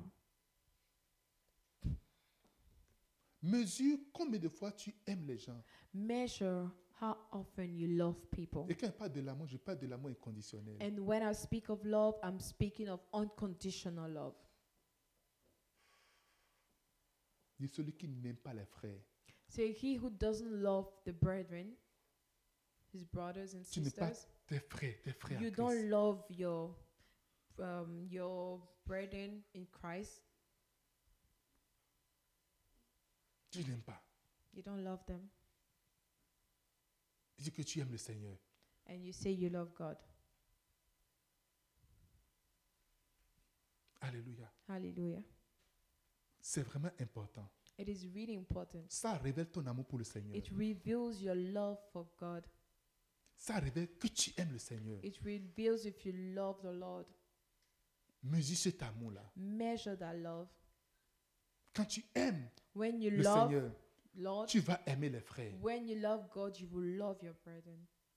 Mesure combien de fois tu aimes les gens. Measure how often you love people. Et quand je parle de l'amour, je parle de l'amour inconditionnel. And when I speak of love, I'm speaking of unconditional love. De celui qui n'aime pas les frères. So he who doesn't love the brethren, his brothers and Tu n'aimes pas sisters, tes frères, tes frères. you en don't Christ. love your um, your brethren in Christ. Tu n'aimes pas. You don't love them, Dis que tu aimes le Seigneur. and you say you love God. Alléluia. Hallelujah. C'est vraiment important. It is really important. Ça révèle ton amour pour le Seigneur. It reveals your love for God. Ça révèle que tu aimes le Seigneur. It reveals if you love the Lord. Mesure cet amour-là. Measure that love. Quand tu aimes When you le love Seigneur, Lord, tu vas aimer les frères. when you love God, you will love your brethren.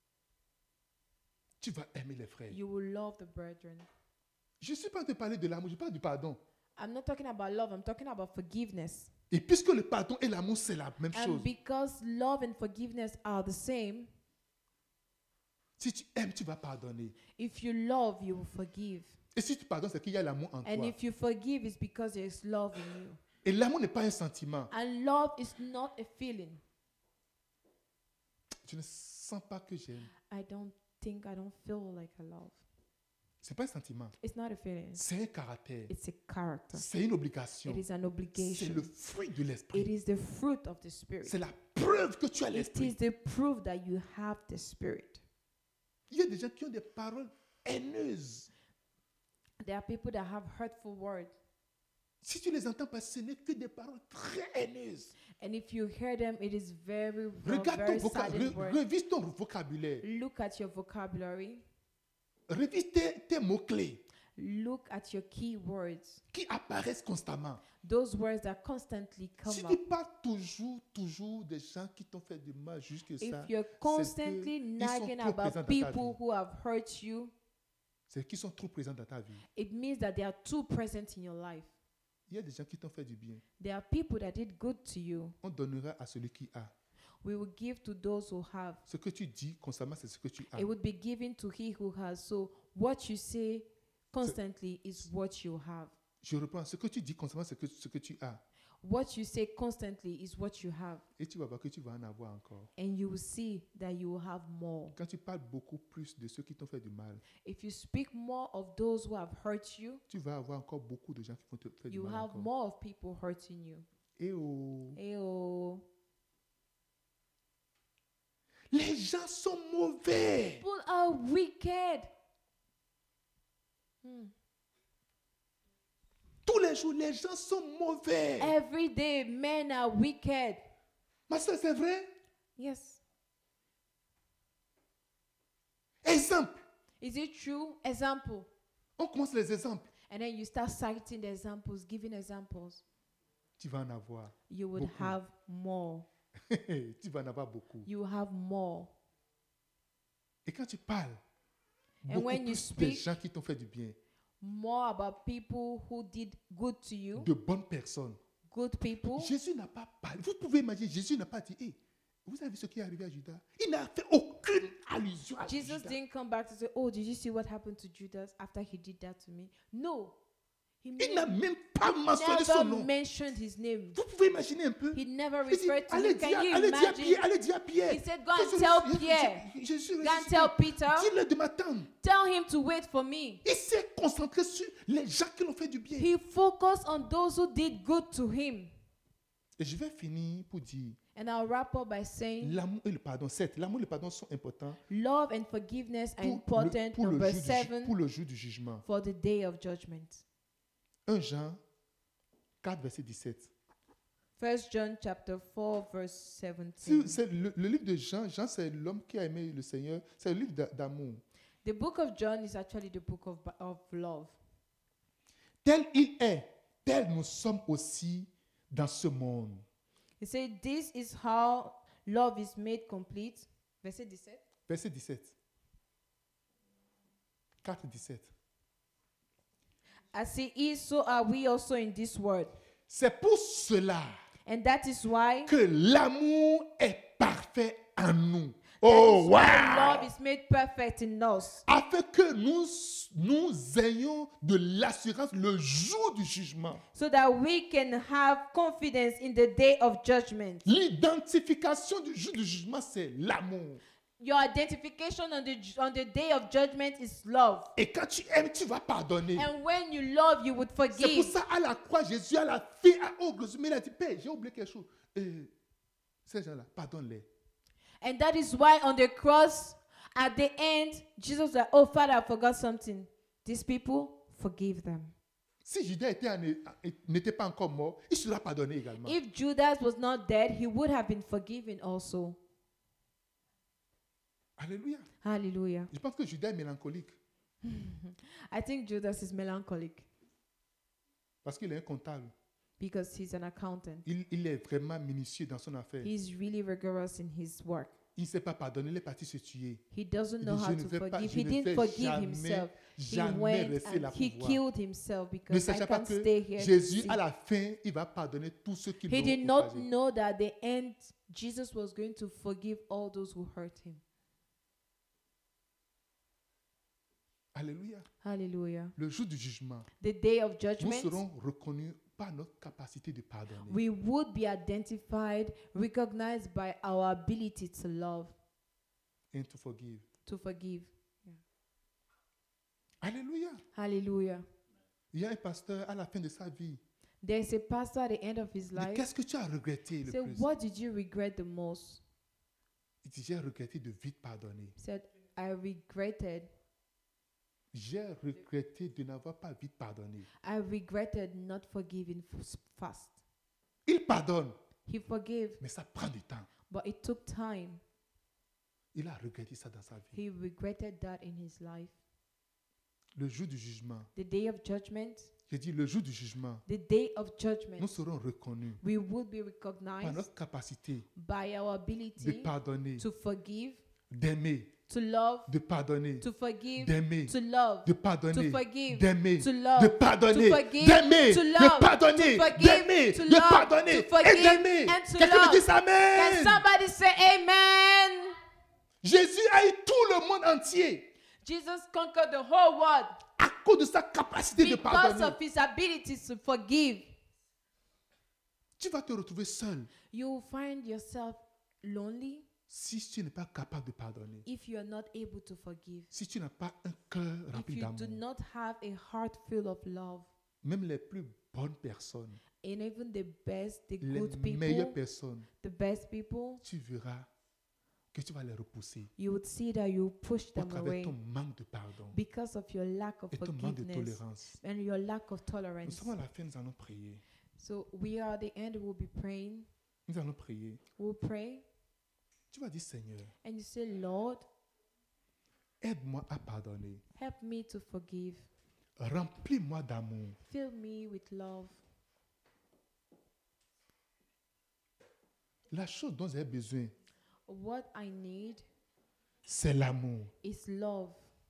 Tu vas aimer les frères. You will love the brethren. Je ne suis pas en train de parler de l'amour, je parle du pardon. I'm not talking about love, I'm talking about forgiveness. Et puisque le pardon et l'amour, c'est la même And chose. because love and forgiveness are the same, Si tu aimes, tu vas pardonner. if you love, you will forgive. Et si tu pardonnes, c'est qu'il y a l'amour en And toi. if you forgive, it's because there is love in you. Et l'amour n'est pas un sentiment. And love is not a feeling. Je ne sens pas que j'aime. I don't think, I don't feel like I love. Ce n'est pas un sentiment. It's not a feeling. C'est un caractère. It's a character. C'est une obligation. It is an C'est obligation. le fruit de It l'esprit. is the fruit of the Spirit. C'est la preuve que tu as It l'esprit. is the proof that you have the Spirit. Il y a des gens qui ont des paroles haineuses. There are people that have hurtful words. Si tu les entends passer, ce n'est que des paroles très haineuses. And if you hear them, it is very, Regarde ton very vocabulaire. saddened word. Révise ton vocabulaire. Look at your vocabulary. Révise tes, tes mots-clés Look at your key words. qui apparaissent constamment. Those words that constantly come Si up. tu parles toujours, toujours des gens qui t'ont fait du mal, jusque ça, If you're constantly ils sont nagging trop présents about dans ta people vie. who have hurt you, c'est qu'ils sont trop présents dans ta vie. it means that they are too present in your life. Il y a des gens qui t'ont fait du bien. There are people that did good to you. On donnera à celui qui a. We will give to those who have. Ce que tu dis constamment, c'est ce que tu as. It would be given to he who has. So what you say constantly is what you have. Je reprends. Ce que tu dis constamment, c'est que, ce que tu as. What you say constantly is what you have. Et tu vas voir que tu vas en avoir encore. And you will see that you will have more. Quand tu parles beaucoup plus de ceux qui t'ont fait du mal, If you speak more of those who have hurt you, tu vas avoir encore beaucoup de gens qui vont te faire du you mal have encore. more of people hurting you. Et oh, Ayo. les gens sont mauvais. People are wicked. Hmm. Tous les jours, les gens sont mauvais. Every day, men are wicked. Ma soeur, c'est vrai? Yes. Exemple. Is it true? Example. On commence les exemples. And then you start citing the examples, giving examples. Tu vas en avoir. You would Beaucoup. have more. Tu vas en avoir beaucoup. You will have more. Et quand tu parles, And beaucoup when you plus des speak- gens qui t'ont fait du bien, More about people who did good to you, de bonnes personnes. good people. Jésus n'a pas parlé. Vous pouvez imaginer, Jésus n'a pas dit, hey, vous avez vu ce qui est arrivé à Judas? Il n'a fait aucune allusion à Jesus Judas. didn't come back to say, oh, did you see what happened to Judas after he did that to me? No. He Il n'a made- même pas mentionné son never nom. mentioned his name. Vous pouvez imaginer un peu. He never Il dit, referred to allez him. dire, Can you allez dire à Pierre, imagine? allez dire à Pierre. He said, go que and je- tell je- Pierre. je- je suis Go and ressuscité. tell Peter. Dis-le de m'attendre. Tell him to wait for me. Il s'est concentré sur les gens qui l'ont fait du bien. He focused on those who did good to him. Et je vais finir pour dire, And I'll wrap up by saying, l'amour et le pardon, certes, l'amour et le pardon sont importants love and forgiveness are pour, important. le, pour, le Number jour du, ju- seven, pour le jour du jugement. for the day of judgment. un Jean quatre, verset dix-sept. First John chapter four, verse Si- seventeen. c'est le, le livre de Jean, Jean c'est l'homme qui a aimé le Seigneur, c'est le livre d'a- d'amour. The book of John is actually the book of, of love. Tel il est, tel nous sommes aussi dans ce monde. He said, this is how love is made complete. Verset seventeen. Verset dix-sept. quatre, dix-sept. As he is, so are we also in this world. C'est pour cela And that is why que l'amour est parfait en nous. Oh, that is why wow! love is made perfect in us. Afin que nous, nous ayons de l'assurance le jour du jugement. So that we can have confidence in the day of judgment. L'identification du jour du jugement, c'est l'amour. Your identification on the on the day of judgment is love. Et quand tu aimes, tu vas pardonner. And when you love, you would C'est pour forgive. ça, à la croix, Jésus a la fille à ogre. Mais il a dit, Père, j'ai oublié quelque chose. Et ces gens-là, pardonne-les. And that is why on the cross, at the end, Jesus said, "Oh Father, I forgot something. These people, forgive them." Si Judas était en- n'était pas encore mort, il sera pardonné également. If Judas was not dead, he would have been forgiven also. Alléluia. Hallelujah. Je pense que Judas est mélancolique I think Judas is melancholic parce qu'il est un comptable. because he's an accountant. Il, il est vraiment minutieux dans son affaire. He's really rigorous in his work. Il ne sait pas pardonner, il est parti se tuer. He doesn't Il know dit, how je ne to vais pas, forgive. je He ne didn't vais forgive jamais, himself. He jamais went rester là and pour he voir. killed himself Ne because I sachant pas can't que stay here. to Jésus, see. à la fin, il va pardonner tous ceux qui He did l'ont not outragé. know that at the end, Jesus was going to forgive all those who hurt him. Alléluia. Hallelujah. Le jour du jugement, The day of nous judgment, serons reconnus par notre capacité de pardonner. we would be identified, recognized by our ability to love, And to forgive. to forgive. Alléluia. Hallelujah. Il y a un pasteur à la fin de sa vie. There's a pastor at the end of his Il dit, life. qu'est-ce que tu as regretté le Said, plus? what did you regret the most? Il dit, j'ai regretté de vite pardonner. Said, I regretted. J'ai regretté de n'avoir pas vite pardonné. I regretted not forgiving f- fast. Il pardonne, He forgave, mais ça prend du temps. but it took time. Il a regretté ça dans sa vie. He regretted that in his life. Le jour du jugement, The day of judgment, j'ai dit le jour du jugement, the day of nous judgment, serons reconnus we would be par recognized notre capacité by our de ability pardonner, to forgive, d'aimer, to love, de pardonner, to forgive, d'aimer, to love, de pardonner, to forgive, d'aimer, to love, de pardonner, to forgive, d'aimer, to de love, pardonner, to forgive, d'aimer, to de love, pardonner to forgive, et d'aimer. and to Quelqu'un me love. dise Can Amen. somebody say amen? Jésus a eu tout le monde entier Jesus conquered the whole world à cause de sa capacité de because pardonner. of his ability to forgive. Tu vas te retrouver seul You will find yourself lonely si tu n'es pas capable de pardonner. if you are not able to forgive. Si tu n'as pas un cœur If rempli you do d'amour. not have a heart full of love. Même les plus bonnes personnes, And even the best, the les good meilleures people, personnes, the best people, tu verras que tu vas les repousser you would see that you push au them travers away ton manque de pardon because of your lack of et ton manque de forgiveness tolérance. and your lack of Nous tolerance. sommes à la fin, nous allons prier. So we are at the end, we'll be praying. Nous allons prier. We'll pray Tu vas dire, Seigneur, and you say, Lord, aide-moi à pardonner. help me to forgive. Remplis-moi d'amour. Fill me with love. La chose dont j'ai besoin, What I need c'est l'amour. is love.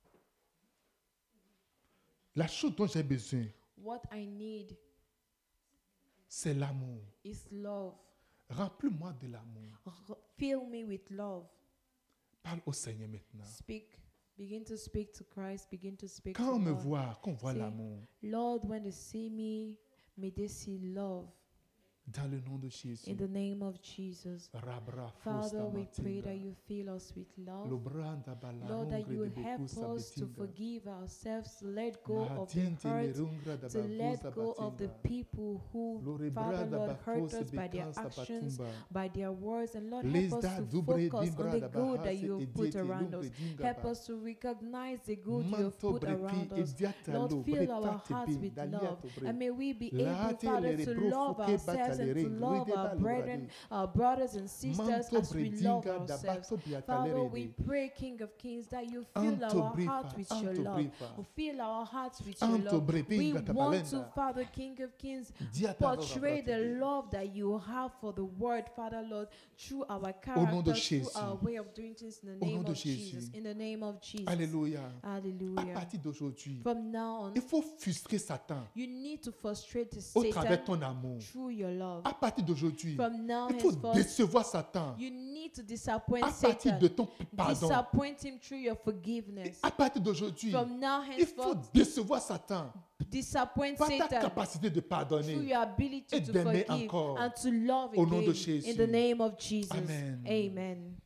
La chose dont j'ai besoin, What I need c'est l'amour. is love. Remplis-moi de l'amour. R- Fill me with love. Parle au Seigneur maintenant. Speak. Begin to speak to Christ. Begin to speak Quand to on me God. voit, qu'on voit Say, l'amour, Lord, when they see me, may they see love. dans le nom de Jésus. In the name of Jesus. Rabra Father, we fosta pray that matinda. you fill us with love. Lobranda bala Lord, that rungre you de will help bekusa us to betinda. forgive ourselves, to let go of the Matiente le hurt, rungra da to let babusa go of the batinda. people who, Lore Father, brada Lord, hurt bafosa us by their bekansa actions, batumba. by their words, and Lord, help Lesda us to dubre focus dimbra on the da good that bahase you have ediete put around lungre us. dinga Help ba. us to recognize the good you have Manto put brepi around us. ediata Lord, lo fill our bretate hearts be with dalia love, to bre. and may we be Late able, Father, le to bro love fuke ourselves sisters and to love our brethren, our brothers and sisters as we love ourselves. Father, we pray, King of Kings, that you fill our hearts with your love. Fill our hearts with your love. We want to, Father, King of Kings, portray the love that you have for the word, Father, Lord, through our character, through our way of doing things in the name of Jesus. In the name of Jesus. Alléluia. Hallelujah. À partir d'aujourd'hui, From now on, il faut frustrer Satan you need to frustrate the au travers de Satan ton amour. through your love. À partir d'aujourd'hui, From now il faut henceforth, décevoir Satan you need to disappoint à partir Satan. de ton pardon. Disappoint him through your forgiveness. À partir d'aujourd'hui, From now il faut henceforth, décevoir Satan disappoint par ta Satan capacité de through pardonner. your ability et to d'aimer forgive encore. and to love Au nom de again Jésus. in the name of Jesus. Amen. Amen.